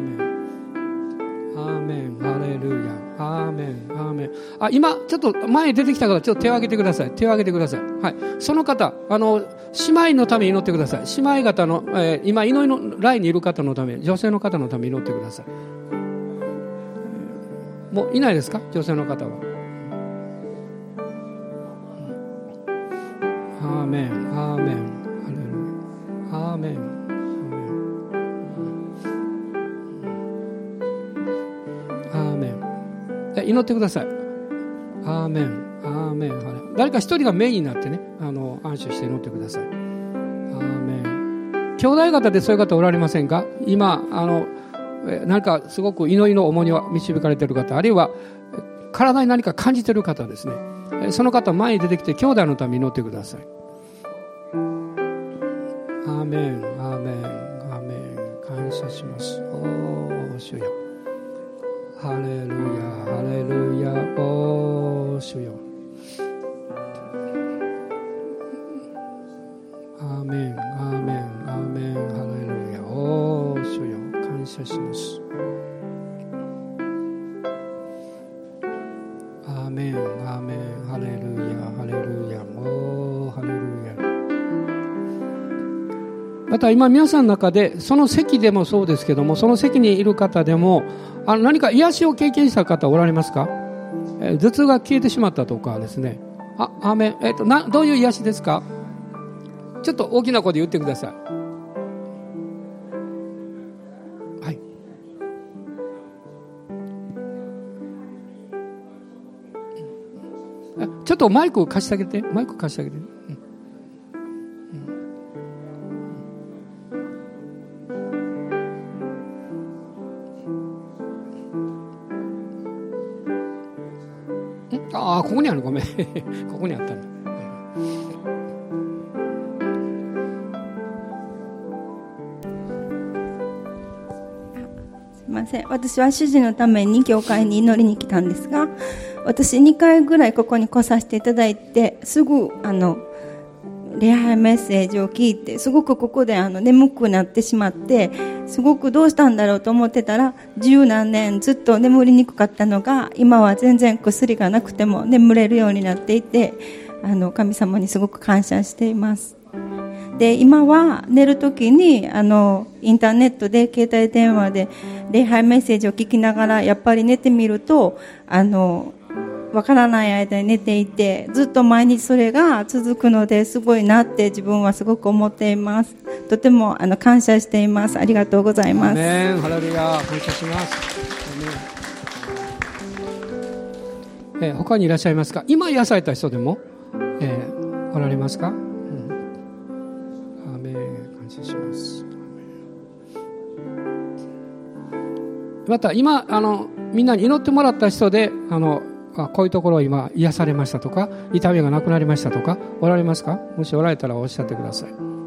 S2: アーメンハレルヤアーメンアーメン。今ちょっと前に出てきた方ちょっと手を挙げてください。手を挙げてください。はい、その方姉妹のために祈ってください。姉妹方の、今祈りのラインにいる方のため、女性の方のために祈ってください。もういないですか？女性の方は。アーメンアーメンハレルヤアーメン祈ってください。アーメンアーメン。誰か一人がメインになってね、安心して祈ってください。アーメン。兄弟方でそういう方おられませんか？今何かすごく祈りの重荷を導かれている方、あるいは体に何か感じている方ですね、その方前に出てきて兄弟のために祈ってください。アーメンアーメンアーメン。感謝します。おー主よハレルヤハレルヤおー主よアーメンアーメンアーメンハレルヤおー主よ感謝します。アーメンアーメンハレルヤハレルヤおーハレルヤ。また今皆さんの中でその席でもそうですけども、その席にいる方でも何か癒しを経験した方おられますか？頭痛が消えてしまったとかですね。アーメン。どういう癒しですか？ちょっと大きな声で言ってください。はい。ちょっとマイク貸してあげて。マイク貸してあげて。ここにある。ごめんここにあったんだ。
S3: すいません。私は主人のために教会に祈りに来たんですが、私2回ぐらいここに来させていただいて、すぐ礼拝メッセージを聞いて、すごくここで眠くなってしまって、すごくどうしたんだろうと思ってたら、十何年ずっと眠りにくかったのが、今は全然薬がなくても眠れるようになっていて、神様にすごく感謝しています。で、今は寝るときにインターネットで携帯電話で礼拝メッセージを聞きながら、やっぱり寝てみるとわからない間に寝ていて、ずっと毎日それが続くのですごいなって自分はすごく思っています。とても感謝しています。ありがとうございます。
S2: アメンハレルヤ感謝します。他にいらっしゃいますか？今癒された人でも、おられますか？アメン感謝します。また今みんなに祈ってもらった人でこういうところ今癒されましたとか、痛みがなくなりましたとかおられますか？もしおられたらおっしゃってください。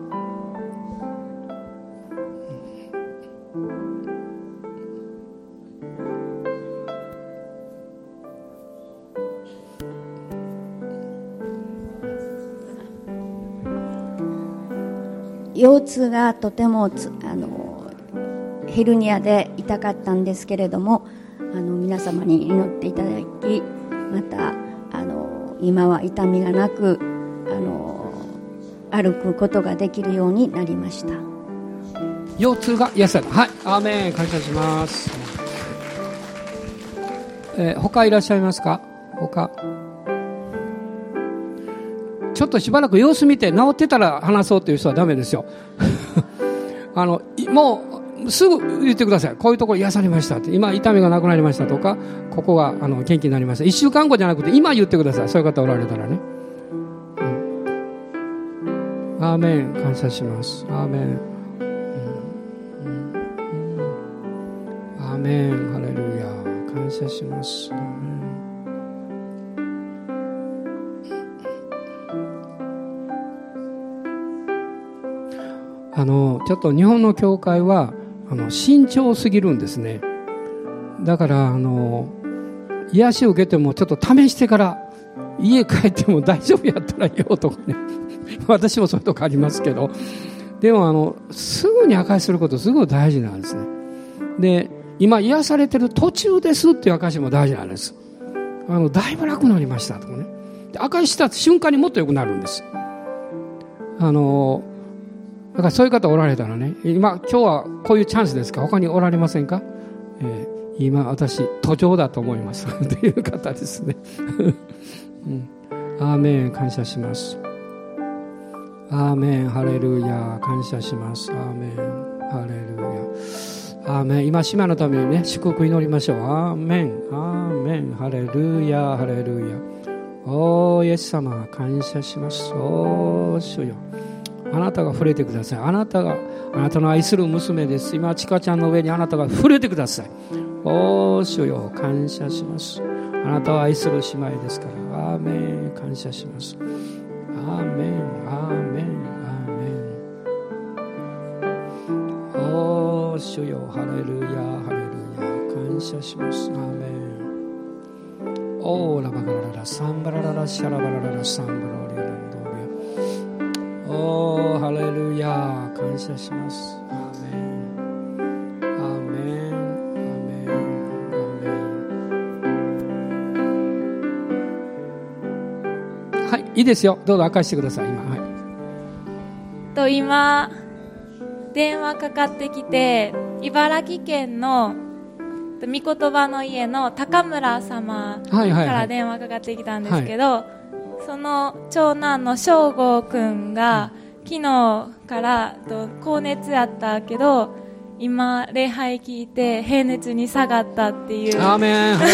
S4: 腰痛がとてもヘルニアで痛かったんですけれども、皆様に祈っていただき、また今は痛みがなく歩くことができるようになりました。
S2: 腰痛が癒された。はい、アーメン感謝します。他いらっしゃいますか？他ちょっとしばらく様子見て治ってたら話そうという人はダメですよもうすぐ言ってください。こういうところ癒されましたって、今痛みがなくなりましたとか、ここが元気になりました。1週間後じゃなくて今言ってください。そういう方おられたらね、アーメン。感謝します。アーメン、アーメン。ハレルヤ。感謝します。アーメン。ちょっと日本の教会は慎重すぎるんですね。だから癒しを受けてもちょっと試してから家帰っても大丈夫やったらいいよとかね私もそういうとこありますけど、でもすぐに証しすることすごい大事なんですね。で、今癒されてる途中ですっていう証しも大事なんです。だいぶ楽になりましたとかね。で、証しした瞬間にもっと良くなるんです。だからそういう方おられたらね、今日はこういうチャンスですか。他におられませんか。今私途上だと思いますという方ですね、アーメン。感謝します。アーメン。ハレルヤ。感謝します。アーメン。ハレルヤ。アーメン。今姉妹のためにね、祝福祈りましょう。アーメン。アーメン。ハレルヤ。ハレルヤ。おーイエス様、感謝します。おー主よ、あなたが触れてください。あなたの愛する娘です。今ちかちゃんの上にあなたが触れてください。おー主よ、感謝します。あなたを愛する姉妹ですから。アーメン。感謝します。アーメン。アーメン。アーメン。おー主よ、ハレルヤ。ハレルヤ。感謝します。アーメン。オーラバガラララサンバラララシャラバラララサンバロリアランドリア。おーハレルヤ。感謝します。アーメン。アーメン。アーメン。アーメン。はい、いいですよ。どうぞ明かしてください。
S5: 今電話かかってきて、茨城県の御言葉の家の高村様から電話かかってきたんですけど、その長男の翔吾くんが昨日から高熱やったけど、今礼拝聞いて平熱に下がったっていう
S2: アーメン。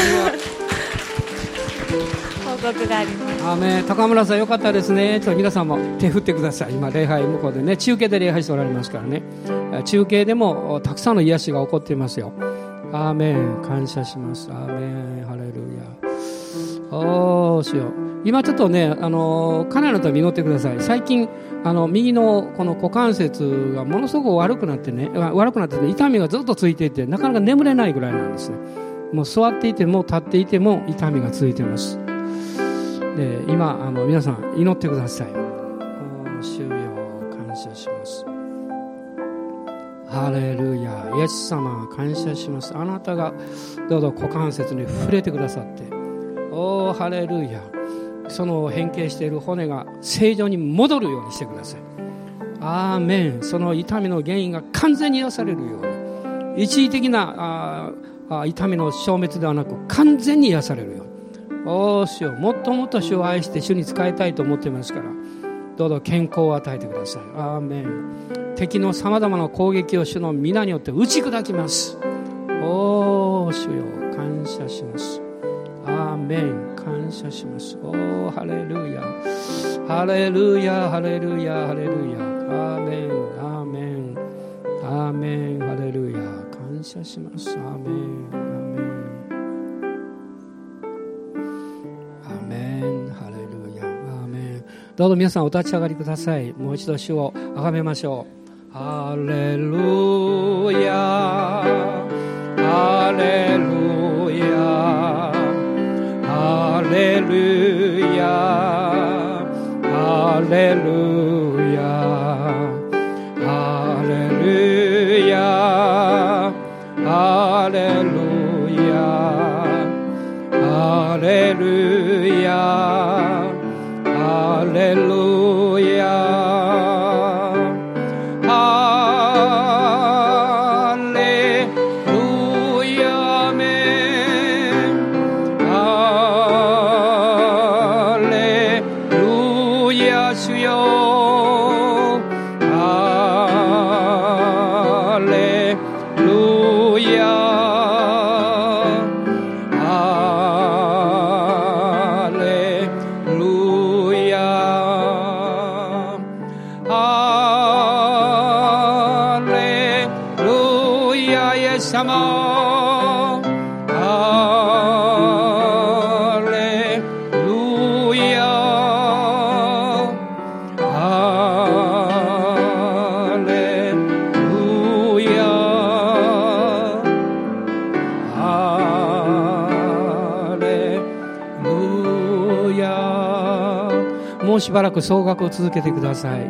S5: 報告があります。
S2: アーメン。高村さんよかったですね。ちょっと皆さんも手振ってください。今礼拝向こうでね、中継で礼拝しておられますからね。中継でもたくさんの癒しが起こっていますよ。アーメン。感謝します。アーメン。ハレルヤ。おー主よ、今ちょっとね、家内のために祈ってください。最近右のこの股関節がものすごく悪くなってね、痛みがずっとついていて、なかなか眠れないぐらいなんですね。もう座っていても立っていても痛みがついています。で、今皆さん祈ってください。主よ、感謝します。ハレルヤ。イエス様、感謝します。あなたがどうぞ股関節に触れてくださって、おーハレルヤ。その変形している骨が正常に戻るようにしてください。アーメン。その痛みの原因が完全に癒されるように、一時的な痛みの消滅ではなく完全に癒されるように。おー主よ、もっともっと主を愛して主に仕えたいと思っていますから、どうぞ健康を与えてください。アーメン。敵のさまざまな攻撃を主の皆によって打ち砕きます。おー主よ、感謝します。アーメン。感謝します。おーハレルヤ。ハレルヤ。ハレルヤ。ハレルヤ。アーメン。アーメン。アーメン。ハレルヤ。感謝します。アーメン。アーメン。アーメン。ハレルヤ。アーメン。どうぞ皆さんお立ち上がりください。もう一度主をあがめましょう。ハレルヤ。ハレルヤ。ハレルヤ。ハレルヤ。ハレルヤ。ハレルヤ。ハレルヤ。ハレルヤ。
S6: Hallelujah.
S2: ヤ主よハレルヤハレルヤハレルヤイエス様しばらく総額を続けてください。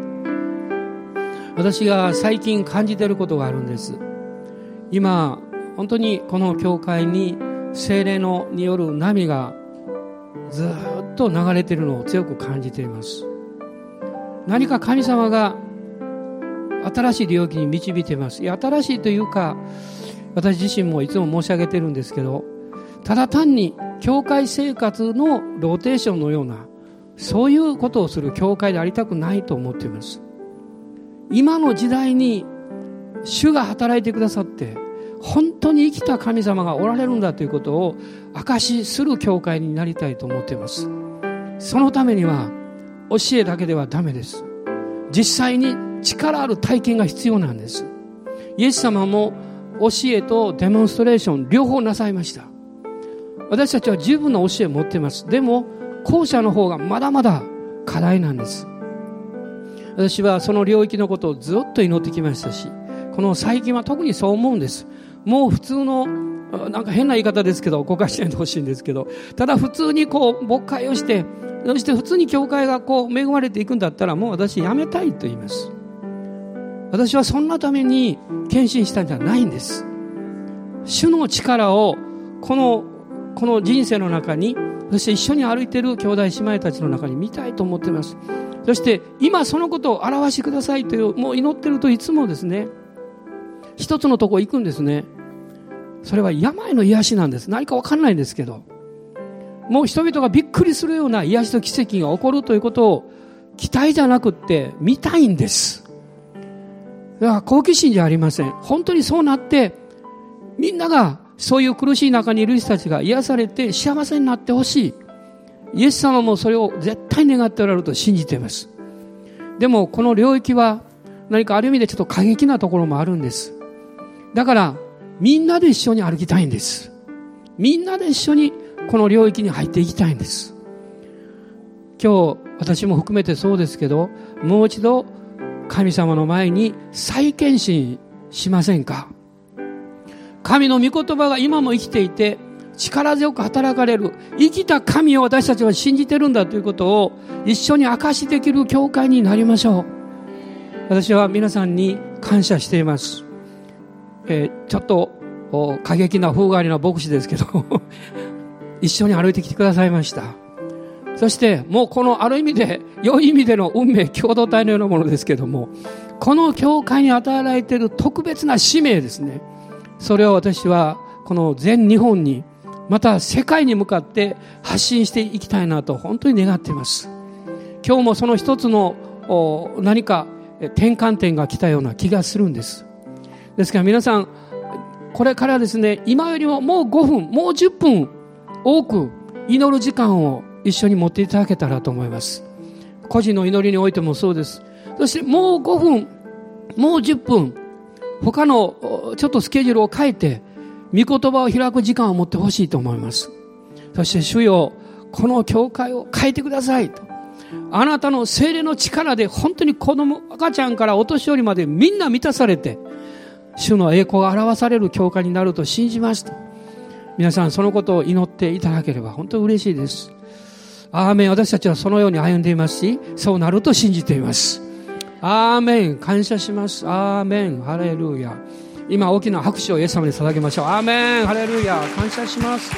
S2: 私が最近感じていることがあるんです。今本当にこの教会に聖霊による波がずっと流れているのを強く感じています。何か神様が新しい領域に導いています。いや、新しいというか、私自身もいつも申し上げてるんですけど、ただ単に教会生活のローテーションのようなそういうことをする教会でありたくないと思っています。今の時代に主が働いてくださって本当に生きた神様がおられるんだということを証しする教会になりたいと思っています。そのためには教えだけではダメです。実際に力ある体験が必要なんです。イエス様も教えとデモンストレーション両方なさいました。私たちは十分な教えを持っています。でも後者の方がまだまだ課題なんです。私はその領域のことをずっと祈ってきましたし、この最近は特にそう思うんです。もう普通のなんか変な言い方ですけど誤解しないでほしいんですけど、ただ普通に牧会をしてそして普通に教会が恵まれていくんだったらもう私やめたいと言います。私はそんなために献身したんじゃないんです。主の力をこの人生の中に、そして一緒に歩いている兄弟姉妹たちの中に見たいと思っています。そして今そのことを表してくださいという、もう祈ってるといつもですね、一つのとこ行くんですね。それは病の癒しなんです。何か分かんないんですけど、もう人々がびっくりするような癒しと奇跡が起こるということを期待じゃなくって見たいんです。だから好奇心じゃありません。本当にそうなってみんながそういう苦しい中にいる人たちが癒されて幸せになってほしい。イエス様もそれを絶対願っておられると信じています。でもこの領域は何かある意味でちょっと過激なところもあるんです。だからみんなで一緒に歩きたいんです。みんなで一緒にこの領域に入っていきたいんです。今日私も含めてそうですけど、もう一度神様の前に再献身しませんか。神の御言葉が今も生きていて力強く働かれる生きた神を私たちは信じてるんだということを一緒に証しできる教会になりましょう。私は皆さんに感謝しています。ちょっと過激な風変わりな牧師ですけど一緒に歩いてきてくださいました。そしてもうこのある意味で良い意味での運命共同体のようなものですけども、この教会に与えられている特別な使命ですね、それを私はこの全日本にまた世界に向かって発信していきたいなと本当に願っています。今日もその一つの何か転換点が来たような気がするんです。ですから皆さんこれからですね、今よりももう5分もう10分多く祈る時間を一緒に持っていただけたらと思います。個人の祈りにおいてもそうです。そしてもう5分もう10分他のちょっとスケジュールを変えて御言葉を開く時間を持ってほしいと思います。そして主よ、この教会を変えてくださいと、あなたの聖霊の力で本当に子供赤ちゃんからお年寄りまでみんな満たされて主の栄光が表される教会になると信じますと、皆さんそのことを祈っていただければ本当に嬉しいです。アーメン。私たちはそのように歩んでいますし、そうなると信じています。アーメン。感謝します。アーメン。ハレルヤ。今大きな拍手をイエス様に捧げましょう。アーメン。ハレルヤ。感謝します。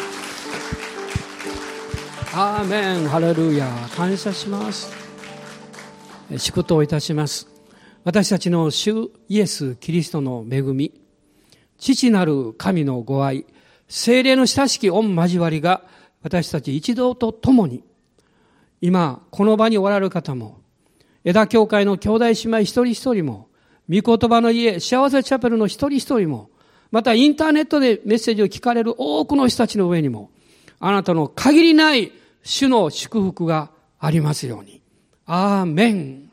S2: アーメン。ハレルヤ。感謝します。祝祷いたします。私たちの主イエス・キリストの恵み、父なる神のご愛、聖霊の親しき御交わりが私たち一同と共に今、この場におられる方も、枝教会の兄弟姉妹一人一人も、御言葉の家、幸せチャペルの一人一人も、またインターネットでメッセージを聞かれる多くの人たちの上にも、あなたの限りない主の祝福がありますように。アーメン。